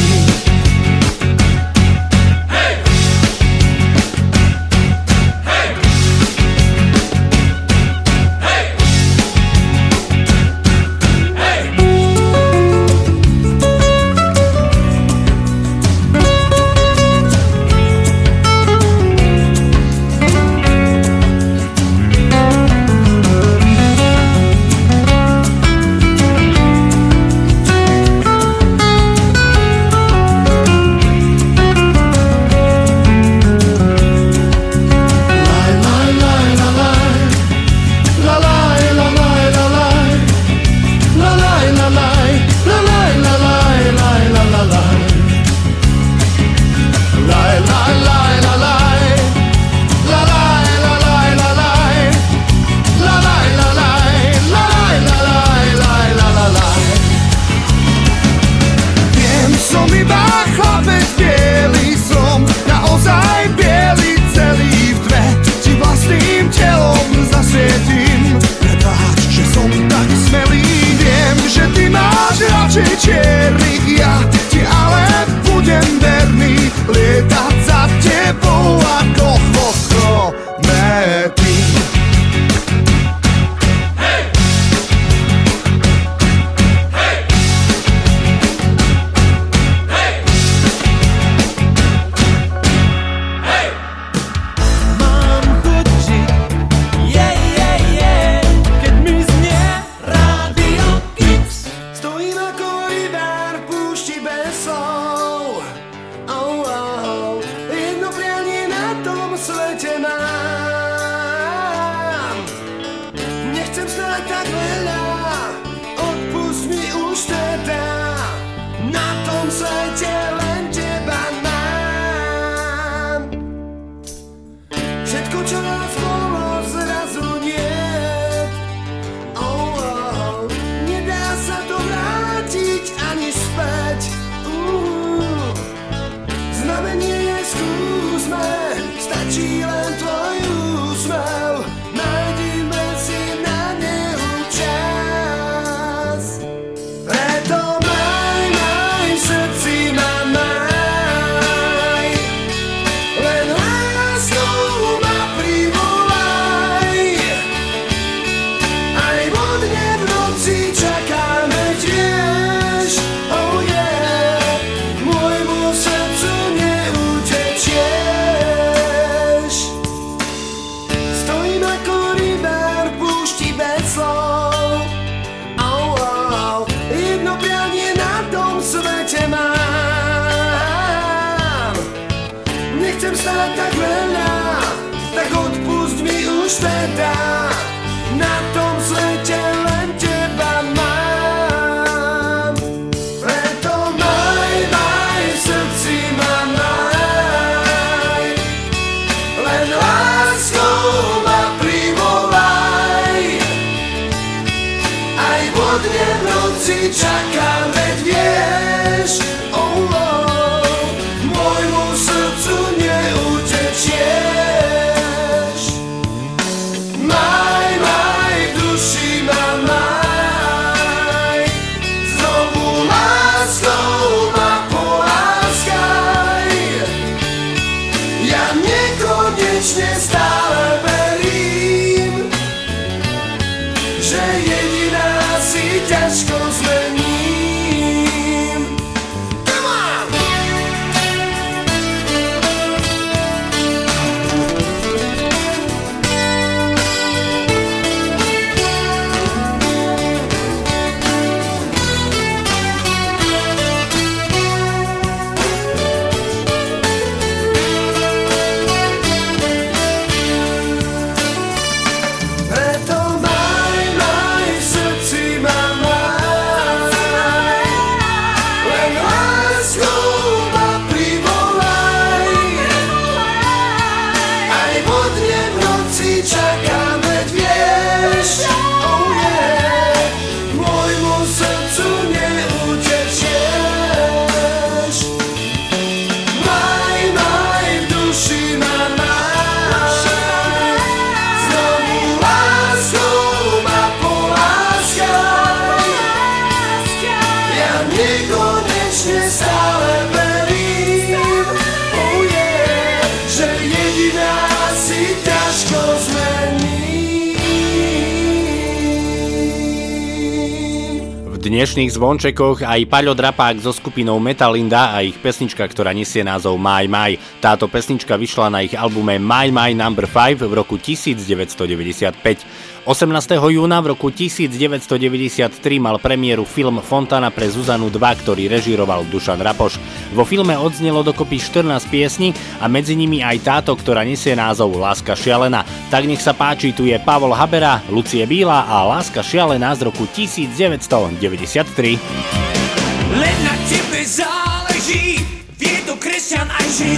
dnešných zvončekoch aj Paľo Drapák so skupinou Metalinda a ich pesnička, ktorá nesie názov My My. Táto pesnička vyšla na ich albume My My number päť v roku devätnásťstodeväťdesiatpäť. osemnásteho júna v roku devätnásťstodeväťdesiattri mal premiéru film Fontana pre Zuzanu dva, ktorý režíroval Dušan Rapoš. Vo filme odznelo dokopy štrnásť piesní a medzi nimi aj táto, ktorá nesie názov Láska šialená. Tak nech sa páči, tu je Pavol Habera, Lucie Bíla a Láska šialená z roku devätnásťstodeväťdesiattri. Len na tebe záleží, vie to kresťan aj žid.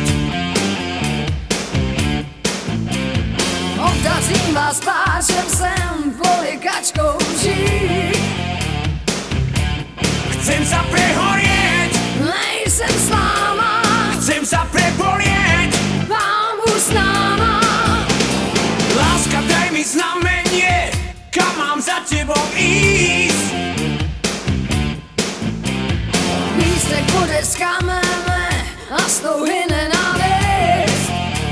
Obdařím vás páčem sem, poliekačkou žít. Chcem sa prehorieť, nejsem s váma. Chcem sa prebolieť, vám už s náma. Láska, daj mi znamenie, kam mám za tebou ísť. Lístek bude z kamene a z tou hyne návist.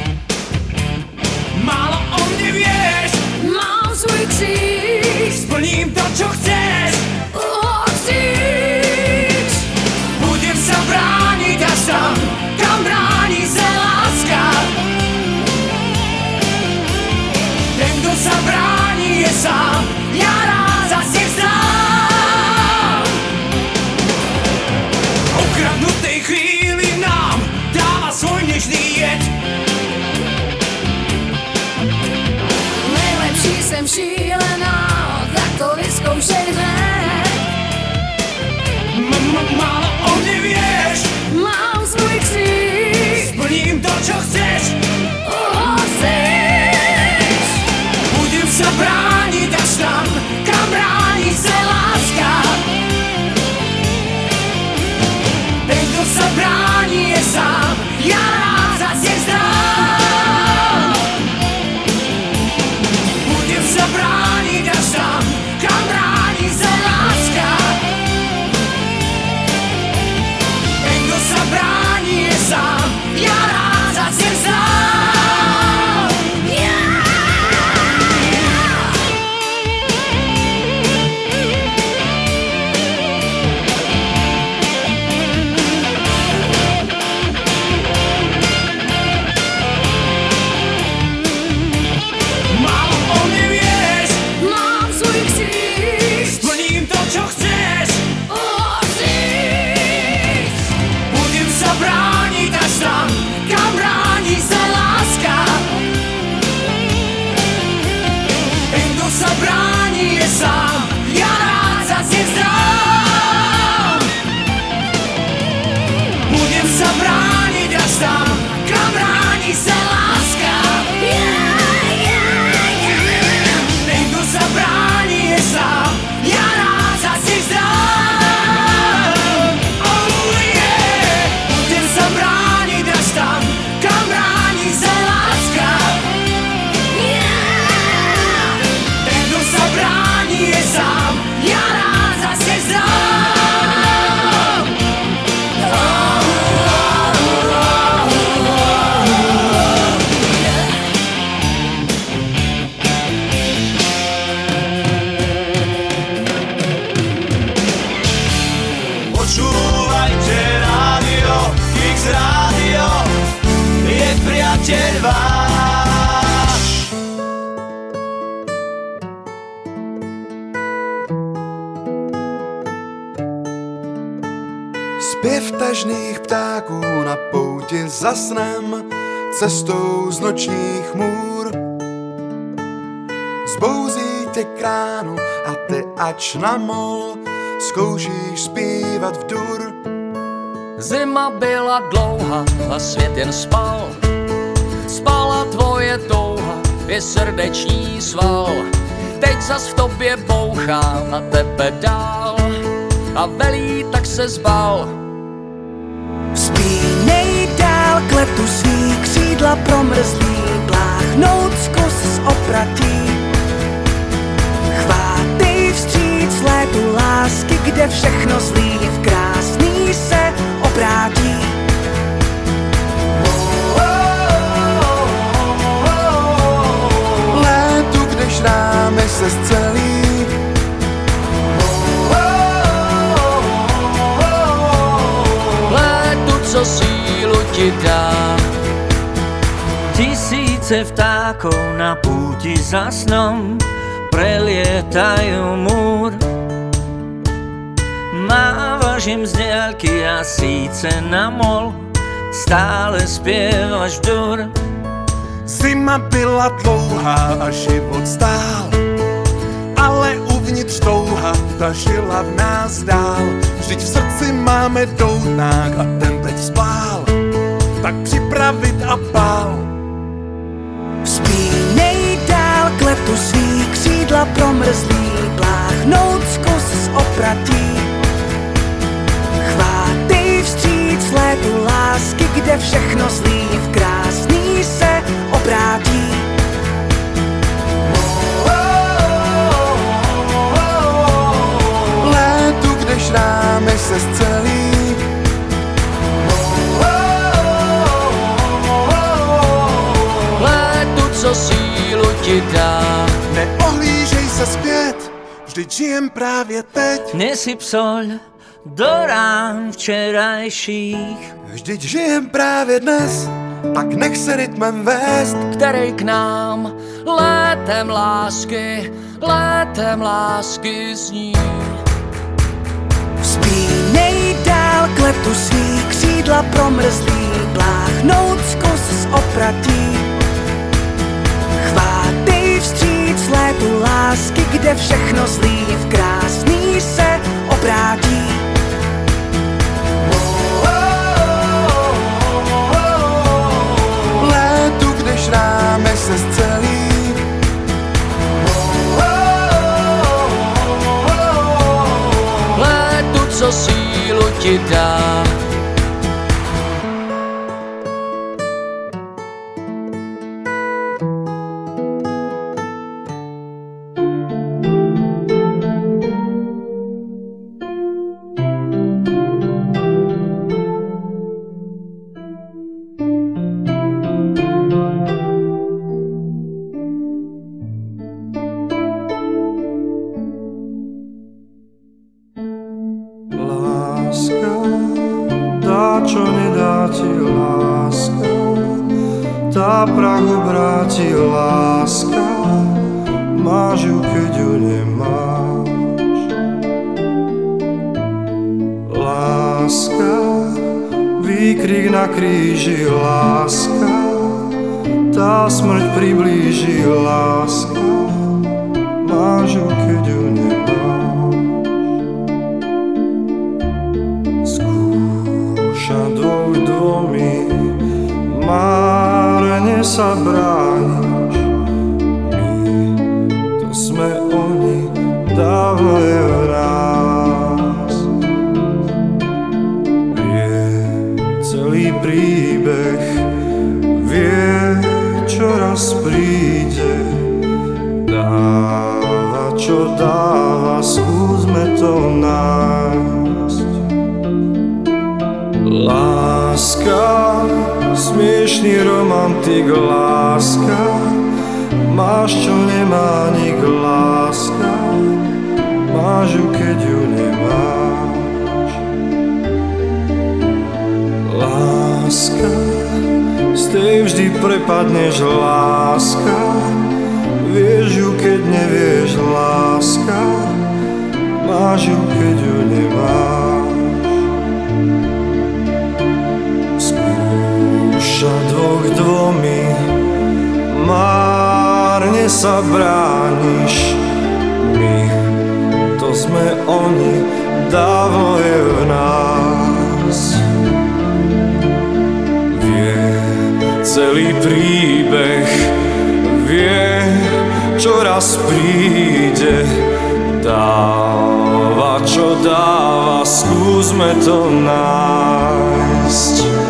Málo o mne vieš, mám svůj kříž. Splním to, čo chceš, uhoříš. Budem sa brániť až tam, kam bráni sa láska. Ten, kto sa bráni, je sám, ja rád zase vzdám. Okradnutej chvíli nám dáva svoj nežný jed. Nejlepší jsem šílená, tak to vyzkoušej hned. Málo o mne vieš, mám svůj kříž. Splním to, čo chceš, uhoříš. Budem sa brániť až tam, kam bráni sa láska. Ten, kto sa bráni, je sám, ja rád zase vzdám. Budem sa brániť až tam, kam bráni sa láska. Ten, kto sa bráni, je sám, ja rád zase vzdám. Málo o mne vieš, mám svůj kříž. Splním to, čo chceš, uhoříš. Budem sa brániť až tam, kam bráni sa láska. Ten, kto sa bráni, je sám, ja rád zase vzdám. Budem sa brániť až tam, kam bráni sa láska. Ten, kto sa bráni, je sám, ja rád zase vzdám. Oh yeah. Budem sa brániť až tam, kam bráni sa láska. Ten, kto sa bráni, je sám, ja rád zase vzdám. Počúvajte rádio, Kix rádio, je priateľ váš. Zpěv tažných ptáků na pouti za snem, cestou z nočních můr. Zbouzí tě kránu a ty ač na mol zkoušíš zpívat v dur. Zima byla dlouhá a svět jen spal. Spala tvoje touha, je srdeční sval. Teď zas v tobě bouchá na tebe dál a velí, tak se zbal. Vzpínej dál k letu svý křídla promrzlý, pláchnout zkus z opratí. Chvátej vstříc létu lásky, kde všechno zlý v krásný se obrátí. Létu, když rámy se zcelí, co sílu ti dá. Tisíce vtákov na púti za snom prelietajú múr. Mávaš im z diaľky a síce na mol stále spievaš dur. Zima byla dlouhá a život stál, ale uvnitř touha ta žila v nás dál. Vždyť v srdci máme doutnák a ten teď spál, tak připravit a pál. Vzpínej dál k letu svý křídla promrzlý, pláchnout zkus z opratí. Chvátej vstříc létu lásky, kde všechno zlý v krásný se obrátí. Létu, kde šrámy se zcelí, co sílu ti dá. Neohlížej se zpět, vždyť žijem právě teď. Nesyp soľ do rán včerajších, vždyť žijem právě dnes, tak nech se rytmem vést, který k nám létem lásky, létem lásky zní. Vzpínej dál k letu svý křídla promrzlý, pláchnout zkus z opratí. Chvátej vstříc létu lásky, kde všechno zlý v krásný se obrátí. Létu, kde šrámy se zcelí, létu, co sílu ti dá. Čo nedá ti láska, tá prahu vráti láska, máš ju, keď ju nemáš. Láska, výkrik na kríži, láska, tá smrť priblíži, láska, máš ju, keď ju nemáš. Dvoj dvomi márne sa brániš. My, to sme oni, dávno je v nás. Vie celý príbeh, vie, čo raz príde. Dáva, čo dáva, skúsme to nájsť. Láska, smiešný romantik, láska, máš, čo nemá nik, láska, máš ju, keď ju nemáš. Láska, z tej vždy prepadneš, láska, vieš ju, keď nevieš, láska, máš ju, keď ju nemáš. Dvoch dvomi márne sa brániš. My, to sme oni, dávno je v nás. Vie celý príbeh, vie, čo raz príde. Dáva, čo dáva, skúsme to nájsť.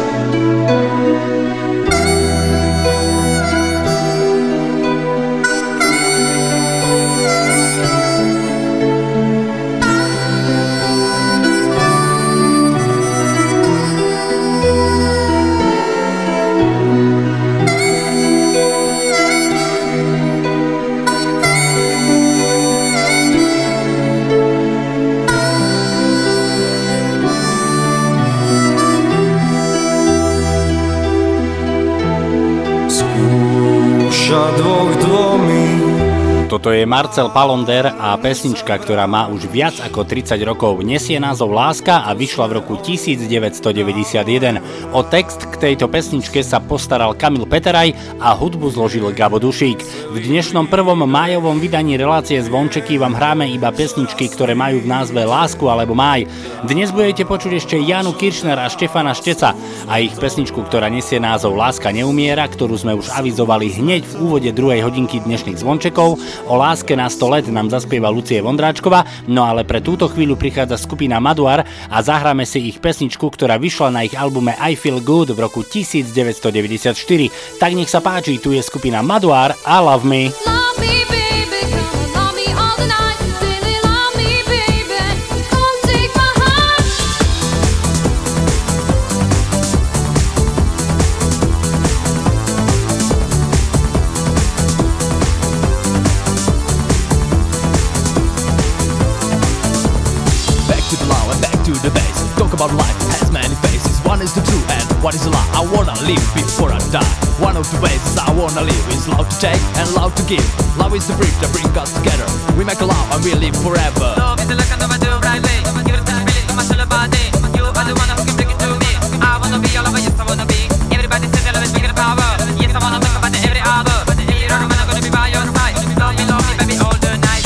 muža dvoch dvomi. Toto je Marcel Palonder a pesnička, ktorá má už viac ako tridsať rokov. Nesie názov Láska a vyšla v roku devätnásťstodeväťdesiatjeden. O text k tejto pesničke sa postaral Kamil Peteraj a hudbu zložil Gabo Dušík. V dnešnom prvom májovom vydaní relácie Zvončeky vám hráme iba pesničky, ktoré majú v názve Lásku alebo Máj. Dnes budete počuť ešte Janu Kiršner a Štefana Šteca a ich pesničku, ktorá nesie názov Láska neumiera, ktorú sme už avizovali hneď v úvode druhej hodinky dnešných Zvončekov. O láske na sto let nám zaspieva Lucie Vondráčková, no ale pre túto chvíľu prichádza skupina Maduar a zahráme si ich pesničku, ktorá vyšla na ich albume I Feel Good v roku devätnásťstodeväťdesiatštyri. Tak nech sa páči, tu je skupina Maduar a Love Me. One is the true and one is a lie. I wanna live before I die. One of the ways I wanna live is love to take and love to give. Love is the bridge that brings us together. We make a love and we live forever. Love is the luck and never do right way. Give it time, really, come on, tell about it. You are the one who can bring it to me. I wanna be all over, yes I wanna be. Everybody says that love is bigger than power. Yes I wanna talk about it every hour. But if you don't know when I'm gonna be by your side. Love me, love me, baby, all the night.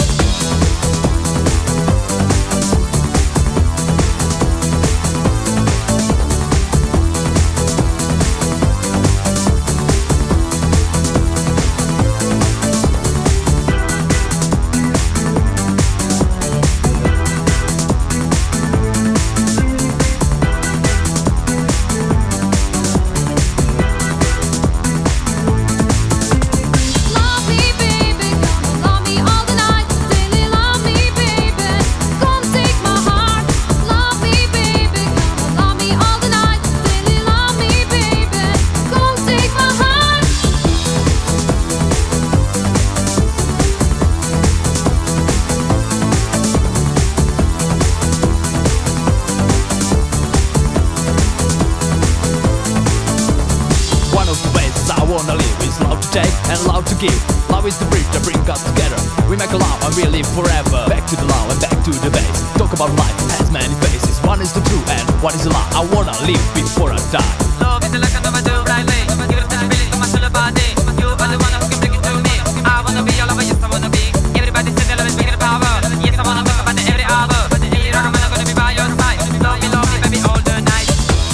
Give. Love is the bridge that brings us together. We make a love and we live forever. Back to the love and back to the base. Talk about life, it has many faces. One is the true and one is a lie. I wanna live before I die. Love is the luck and never do right way. Give it time, really, come on, tell about it. You are the one who can bring it to me. I wanna be all over, yes I wanna be. Everybody says that love is bigger than power. Yes I wanna talk about it every hour. But if you don't know when I'm gonna be by your side. Love me, love me, baby, all the night.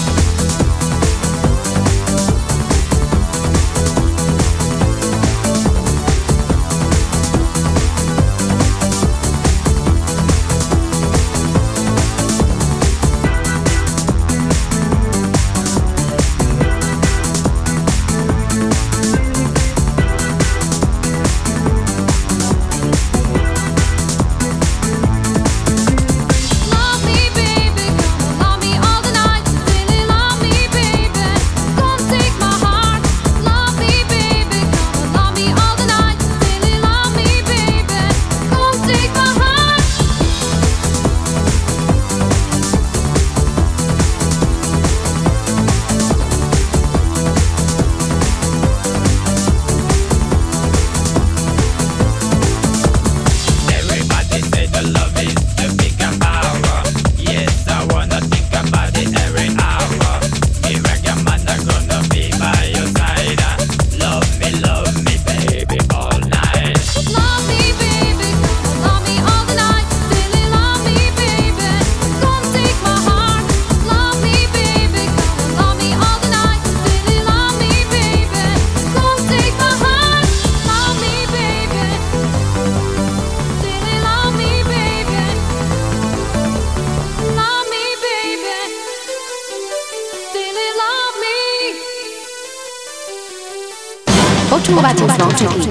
Počúvate Zvončeky.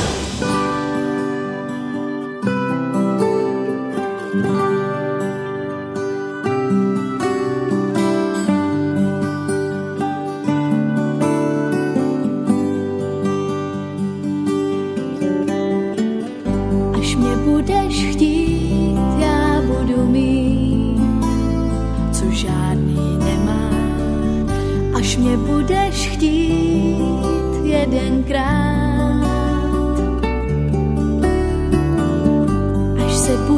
Až mě budeš chtít, já budu mít, co žádný nemá. Až mě budeš chtít jedenkrát,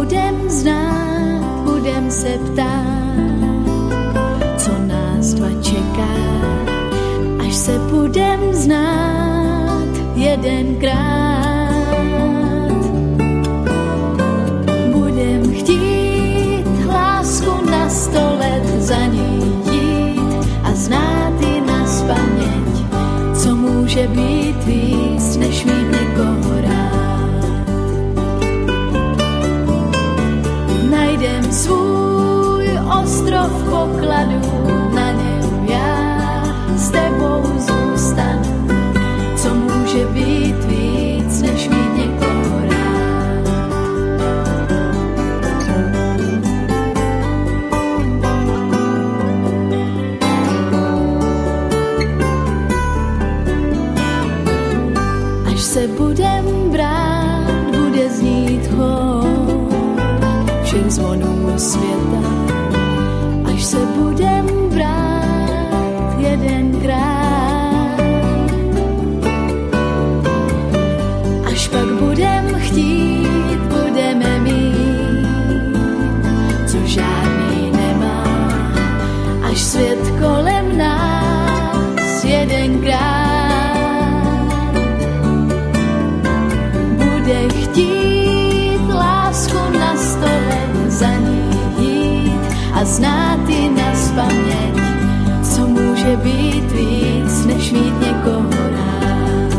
budem znát, budem se ptát, co nás dva čeká, až se budem znát jedenkrát. Budem chtít lásku na sto let za ní jít a znát ji nazpaměť, co může být víc, než mít někoho rád. Najdem svůj ostrov pokladů, na něm já s tebou zůstanu, co může být víc, než mít někoho rád. Až se budem brát, bude znít chor všech zvonů světa. Až se budem brát jedenkrát, až pak budem chtít, budeme mít, co žádný nemá, až svět kolem nás jedenkrát bude chtít lásku na stole za ní jít a znát ji nazpaměť, co může být víc, než mít někoho rád.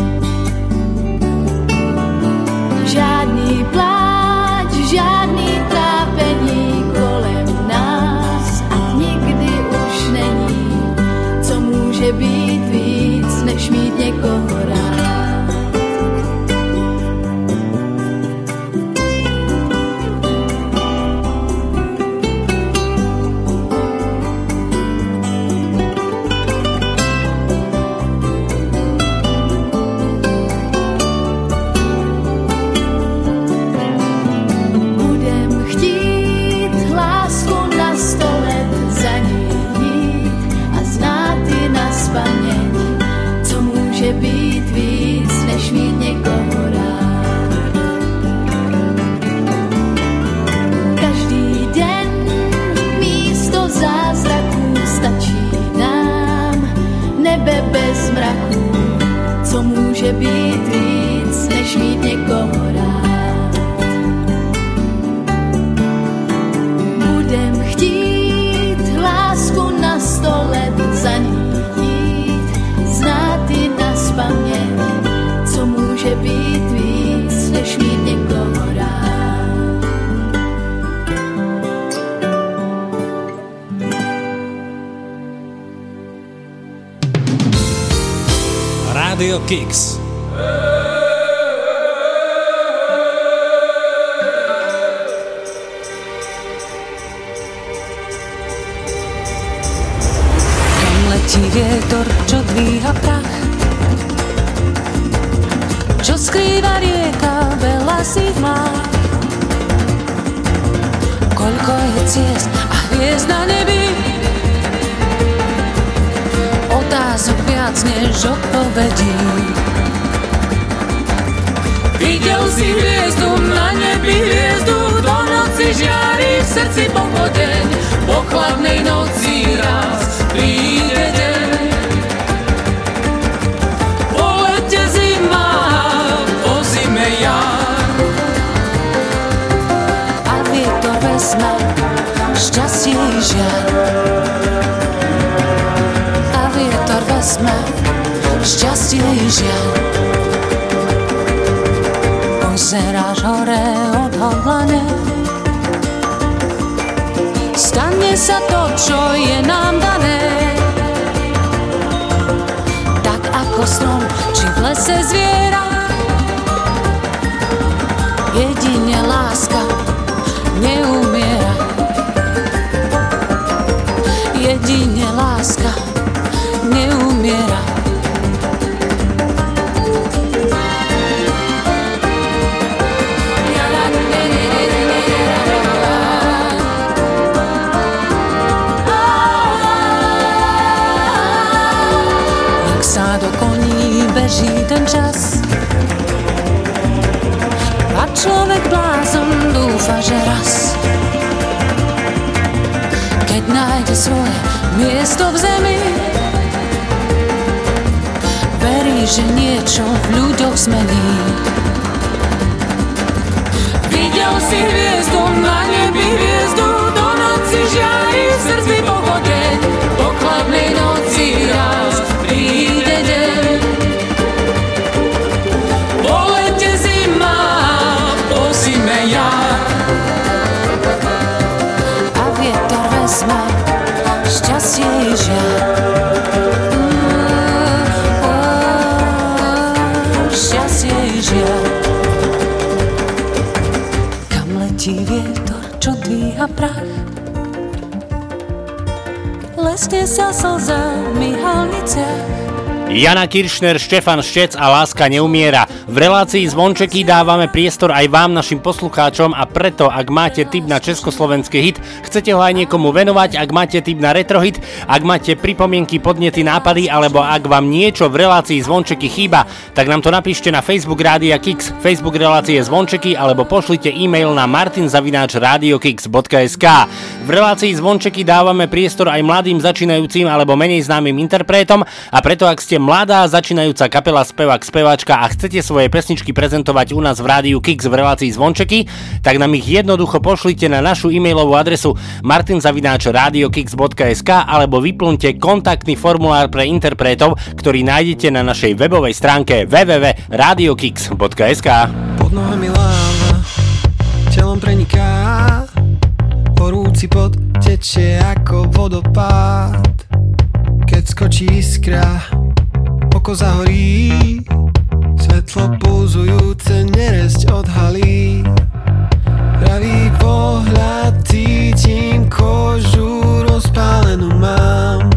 Žádný pláč, žádný trápení kolem nás a nikdy už není, co může být víc, než mít někoho rád. Být víc, než mít někoho rád. Každý den místo zázraků stačí nám nebe bez mraků, co může být víc, než mít někoho rád. Budem chtít lásku na sto let za ní jít, znát ji nazpaměť, co může být víc, než mít někoho rád. Radio Kicks. Vietor, čo dvíha prach, čo skrýva rieka, veľa si má. Koľko je ciest a hviezd na nebi, otázok viac než odpovedí. Videl si hviezdu na nebi, hviezdu do noci žiari, v srdci pochodeň, po chladnej noci raz príde deň. Šťastie i žiaľ a vietor vezme šťastie i žiaľ. Pozeráš hore odhodlane, stane sa to, čo je nám dané. Tak ako strom, či v lese zviera, jedine láska neumiera. Jedine láska neumiera. Jak sa do koní beží ten čas a človek blázon dúfa že raz, keď nájde svoje miesto v zemi, verí, že niečo v ľuďoch zmení. Videl si hviezdu na nebi, hviezdu do noci žiari, v srdci pohodeň, po chladnej noci raz príde deň. Po lete zima, po zime jar, a vietor vezme šťastie i žiar. Šťastie i žiar. Kam letí vietor, čo dvíha prach, lesne sa slzami halniciach. Jana Kiršner, Štefan Štec a Láska neumiera. V relácii Zvončeky dávame priestor aj vám, našim poslucháčom, a preto, ak máte tip na československý hit, chcete ho aj niekomu venovať, ak máte tip na retrohit, ak máte pripomienky, podnety, nápady, alebo ak vám niečo v relácii Zvončeky chýba, tak nám to napíšte na Facebook Rádia Kix, Facebook relácie Zvončeky, alebo pošlite e-mail na martin zavináč radiokix bodka es ká. V relácii Zvončeky dávame priestor aj mladým začínajúcim alebo menej známym interpretom, a preto, ak ste mladá začínajúca kapela, spevák, speváčka a chcete svoje pesničky prezentovať u nás v Rádiu Kix v relácii Zvončeky, tak nám ich jednoducho pošlite na našu e-mailovú adresu martin zavináč radiokix bodka es ká alebo vyplňte kontaktný formulár pre interpretov, ktorý nájdete na našej webovej stránke w w w bodka radiokix bodka es ká. Pod nohami láva, telom preniká, horúci pot tečie ako vodopád. Keď skočí iskra, oko zahorí, svetlo pulzujúce neresť odhalí. Pravý pohľad, cítim kožu, rozpálenú mám.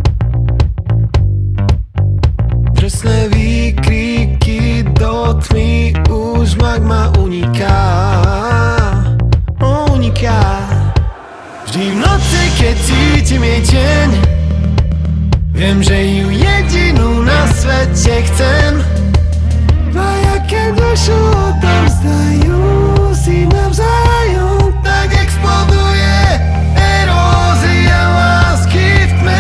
Drsné výkriky, do tmy už magma uniká, uniká. Vždy v noci, keď cítim jej tieň, viem, že ju jedinú na svete chcem. Dvaja, keď dušu odovzdajú si navzájom, tak exploduje erózia lásky v tme.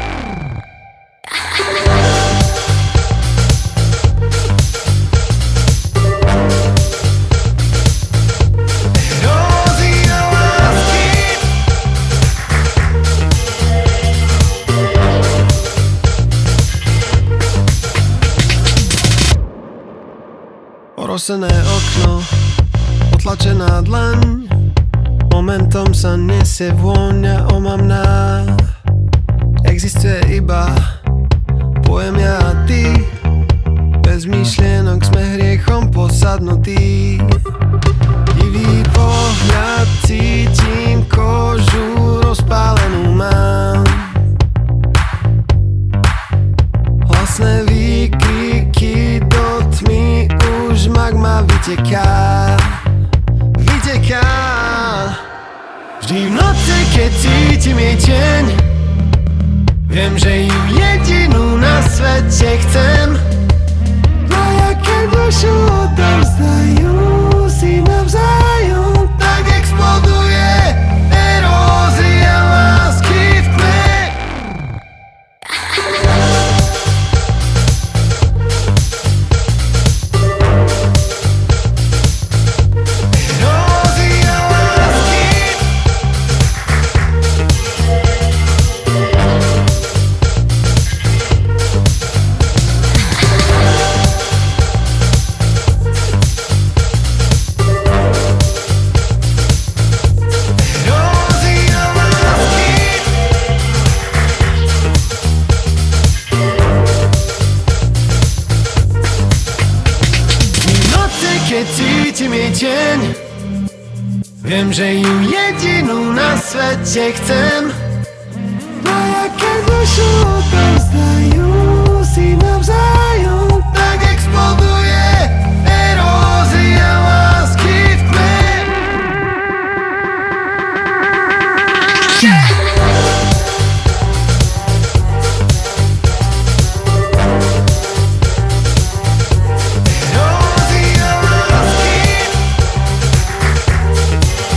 Erózia lásky. Orosené okno, otlačená dlaň, momentom sa nesie vôňa omamná. Existuje iba pojem ja a ty, bez myšlienok sme hriechom posadnutí. Divý pohľad, cítim kožu, rozpálenú mám. Hlasné výkriky, do tmy už magma vyteká, vyteká. Vždy v noci, keď cítim jej tieň, viem, že ju jedinú na svete chcem. Dvaja, keď dušu odovzdajú si navzájom, tak exploduje erózia lásky v tme. Viem, že ju jedinú na svete chcem. Dvaja, keď dušu odovzdajú si navzájom, tak exploduje erózia lásky v tme. Erózia lásky.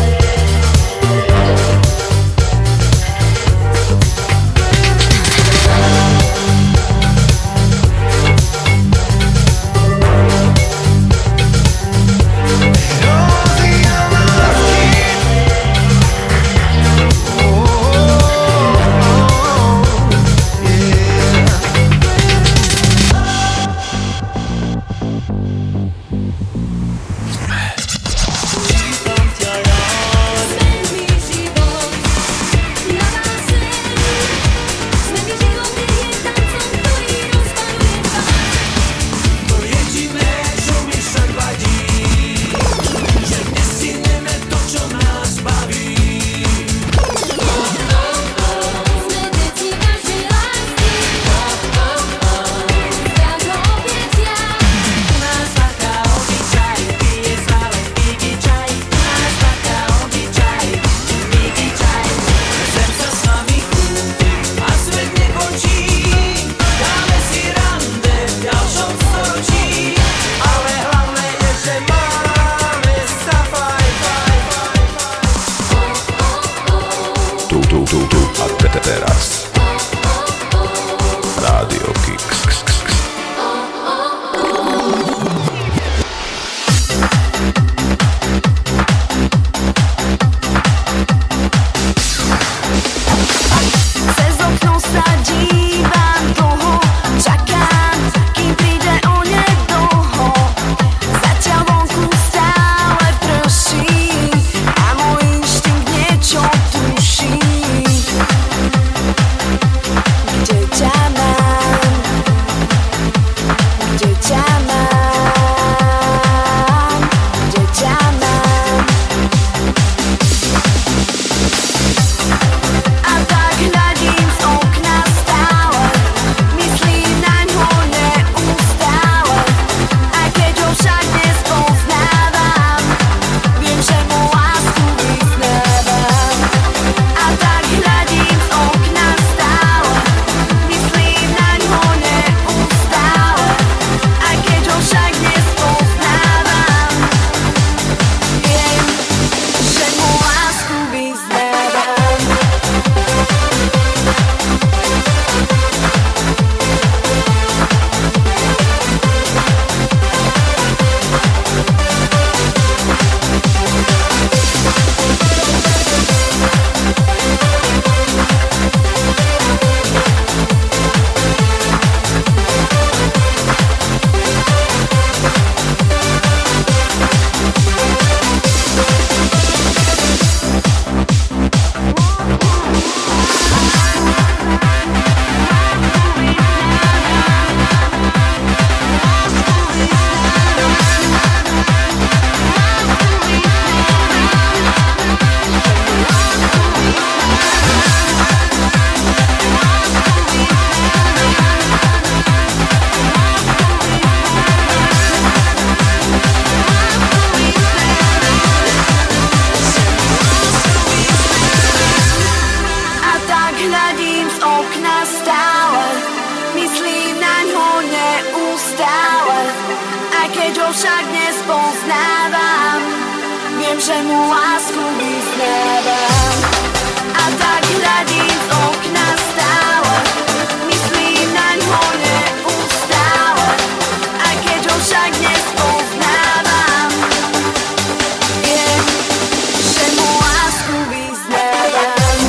ho však nespoznávam, viem, že mu lásku vyznávam. A tak hľadím z okna stále, myslím naňho neustále. A keď ho však nespoznávam, viem, že mu lásku vyznávam.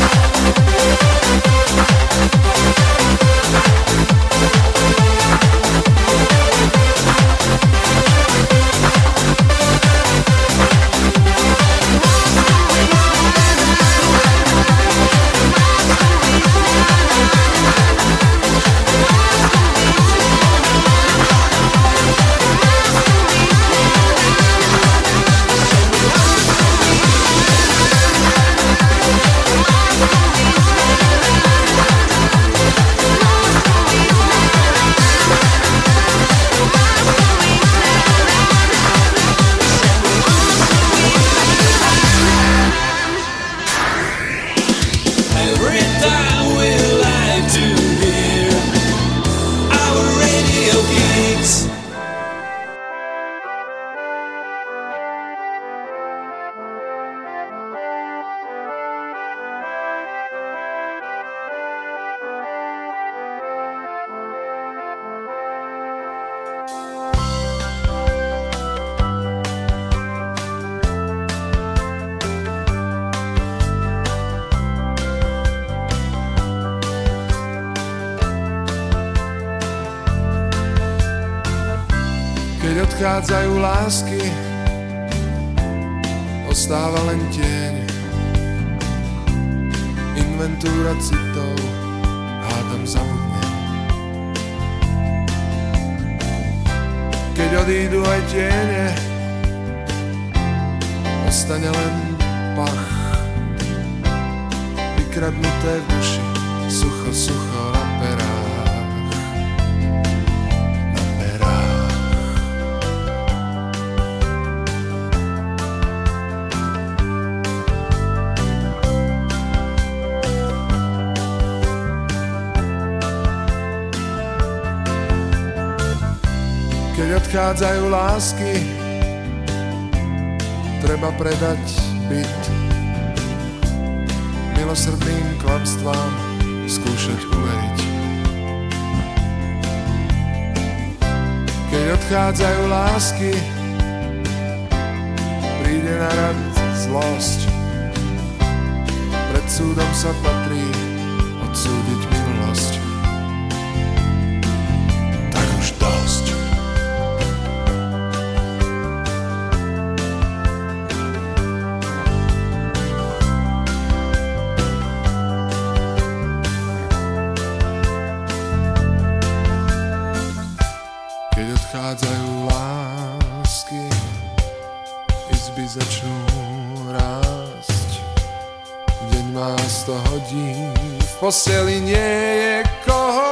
Odchádzajú lásky, ostáva len tieň. Inventúra citov, hádam zabudnem. Keď odídu aj tiene, ostane len pach. Vykradnuté v duši, sucho, sucho na perách. Keď odchádzajú lásky, treba predať byt. Milosrdným klamstvám skúšať uveriť. Keď odchádzajú lásky, príde na rad zlosť. Pred súdom sa patrí odsúdiť minulosť. Tak už dosť. Odchádzajú lásky, izby začnú rásť. Deň má sto hodín, v posteli nie je koho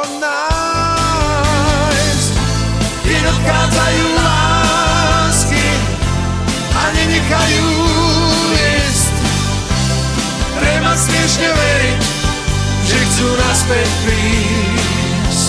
nájsť. Keď odchádzajú lásky a nenechajú ísť, treba smiešne veriť, že chcú naspäť prísť.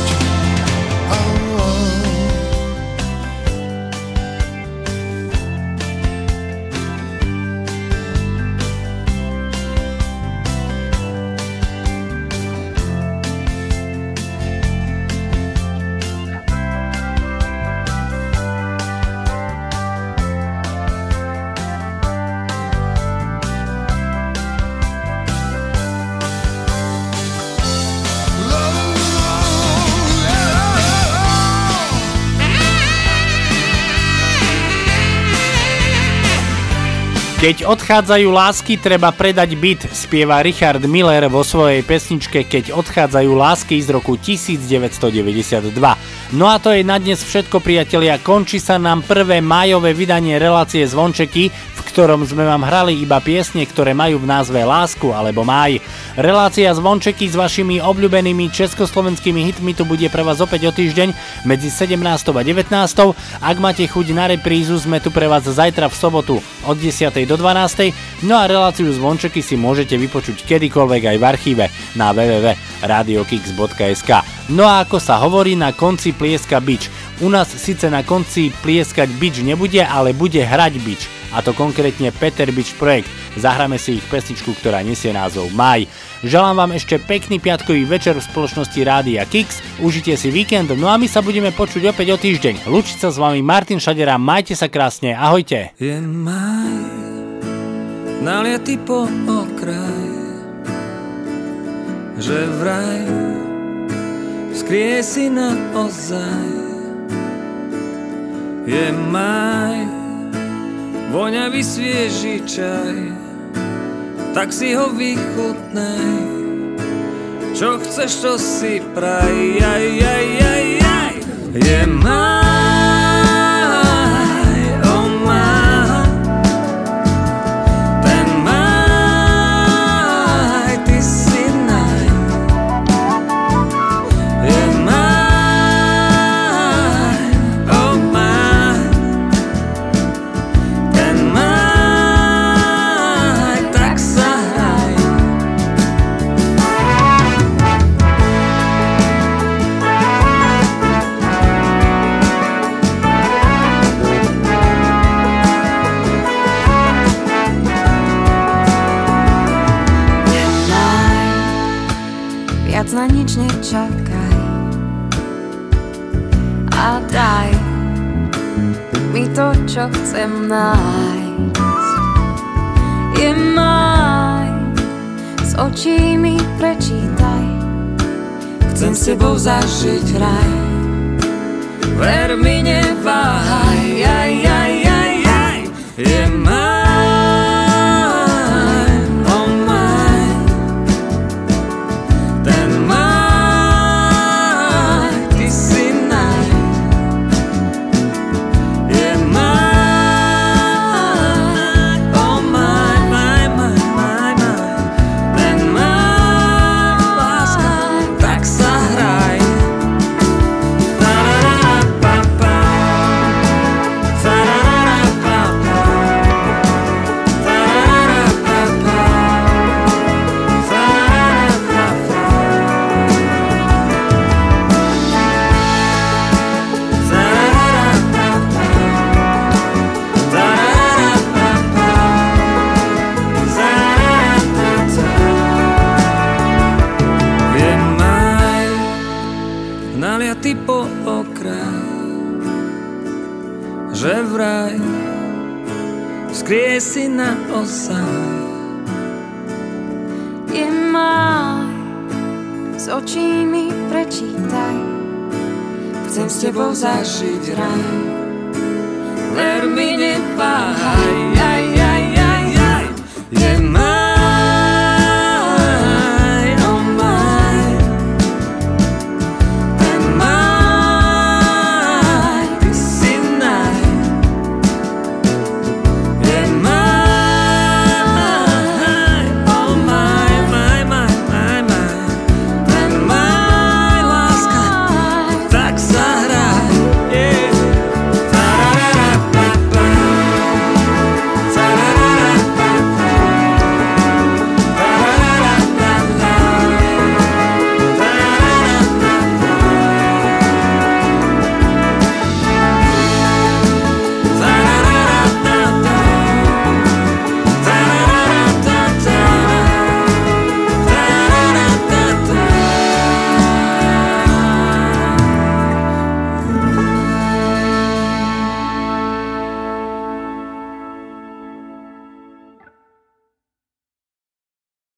Keď odchádzajú lásky, treba predať byt, spieva Richard Miller vo svojej pesničke Keď odchádzajú lásky z roku devätnásťstodeväťdesiatdva. No a to je na dnes všetko, priatelia. Končí sa nám prvé májové vydanie relácie Zvončeky, v ktorom sme vám hrali iba piesne, ktoré majú v názve Lásku alebo Máj. Relácia Zvončeky s vašimi obľúbenými československými hitmi tu bude pre vás opäť o týždeň medzi sedemnástou a devätnástou. Ak máte chuť na reprízu, sme tu pre vás zajtra v sobotu od desiatej do dvanástej. No a reláciu Zvončeky si môžete vypočuť kedykoľvek aj v archíve na w w w bodka radio kix bodka es ka. No a ako sa hovorí, na konci plieska bič. U nás síce na konci plieskať bič nebude, ale bude hrať bič. A to konkrétne Peter Bič projekt. Zahráme si ich pesničku, ktorá nesie názov Maj. Želám vám ešte pekný piatkový večer v spoločnosti Rádia Kix. Užite si víkend, no a my sa budeme počuť opäť o týždeň. Lúčiť sa s vami Martin Šadera, majte sa krásne, ahojte. Je maj, naliatý po okraj, že vraj skrie si naozaj. Je maj, voňavý svieži čaj, tak si ho vychutnaj. Čo chceš, to si praj, aj, aj, aj, aj. Je maj, oh maj, ten maj, ty si naj. Je maj, oh maj, ten maj, tak sa hraj. Viac na nič nečakaj a daj mi to, čo chcem nájsť. Je maj, s očí mi prečítaj, chcem s tebou zažiť raj. Ver mi, neváhaj, aj, aj, aj, aj. Je maj, naliatý po okraj, že vraj skrie si naozaj. Je maj, s očí mi prečítaj, chcem s tebou zažiť raj. Ver mi, neváhaj,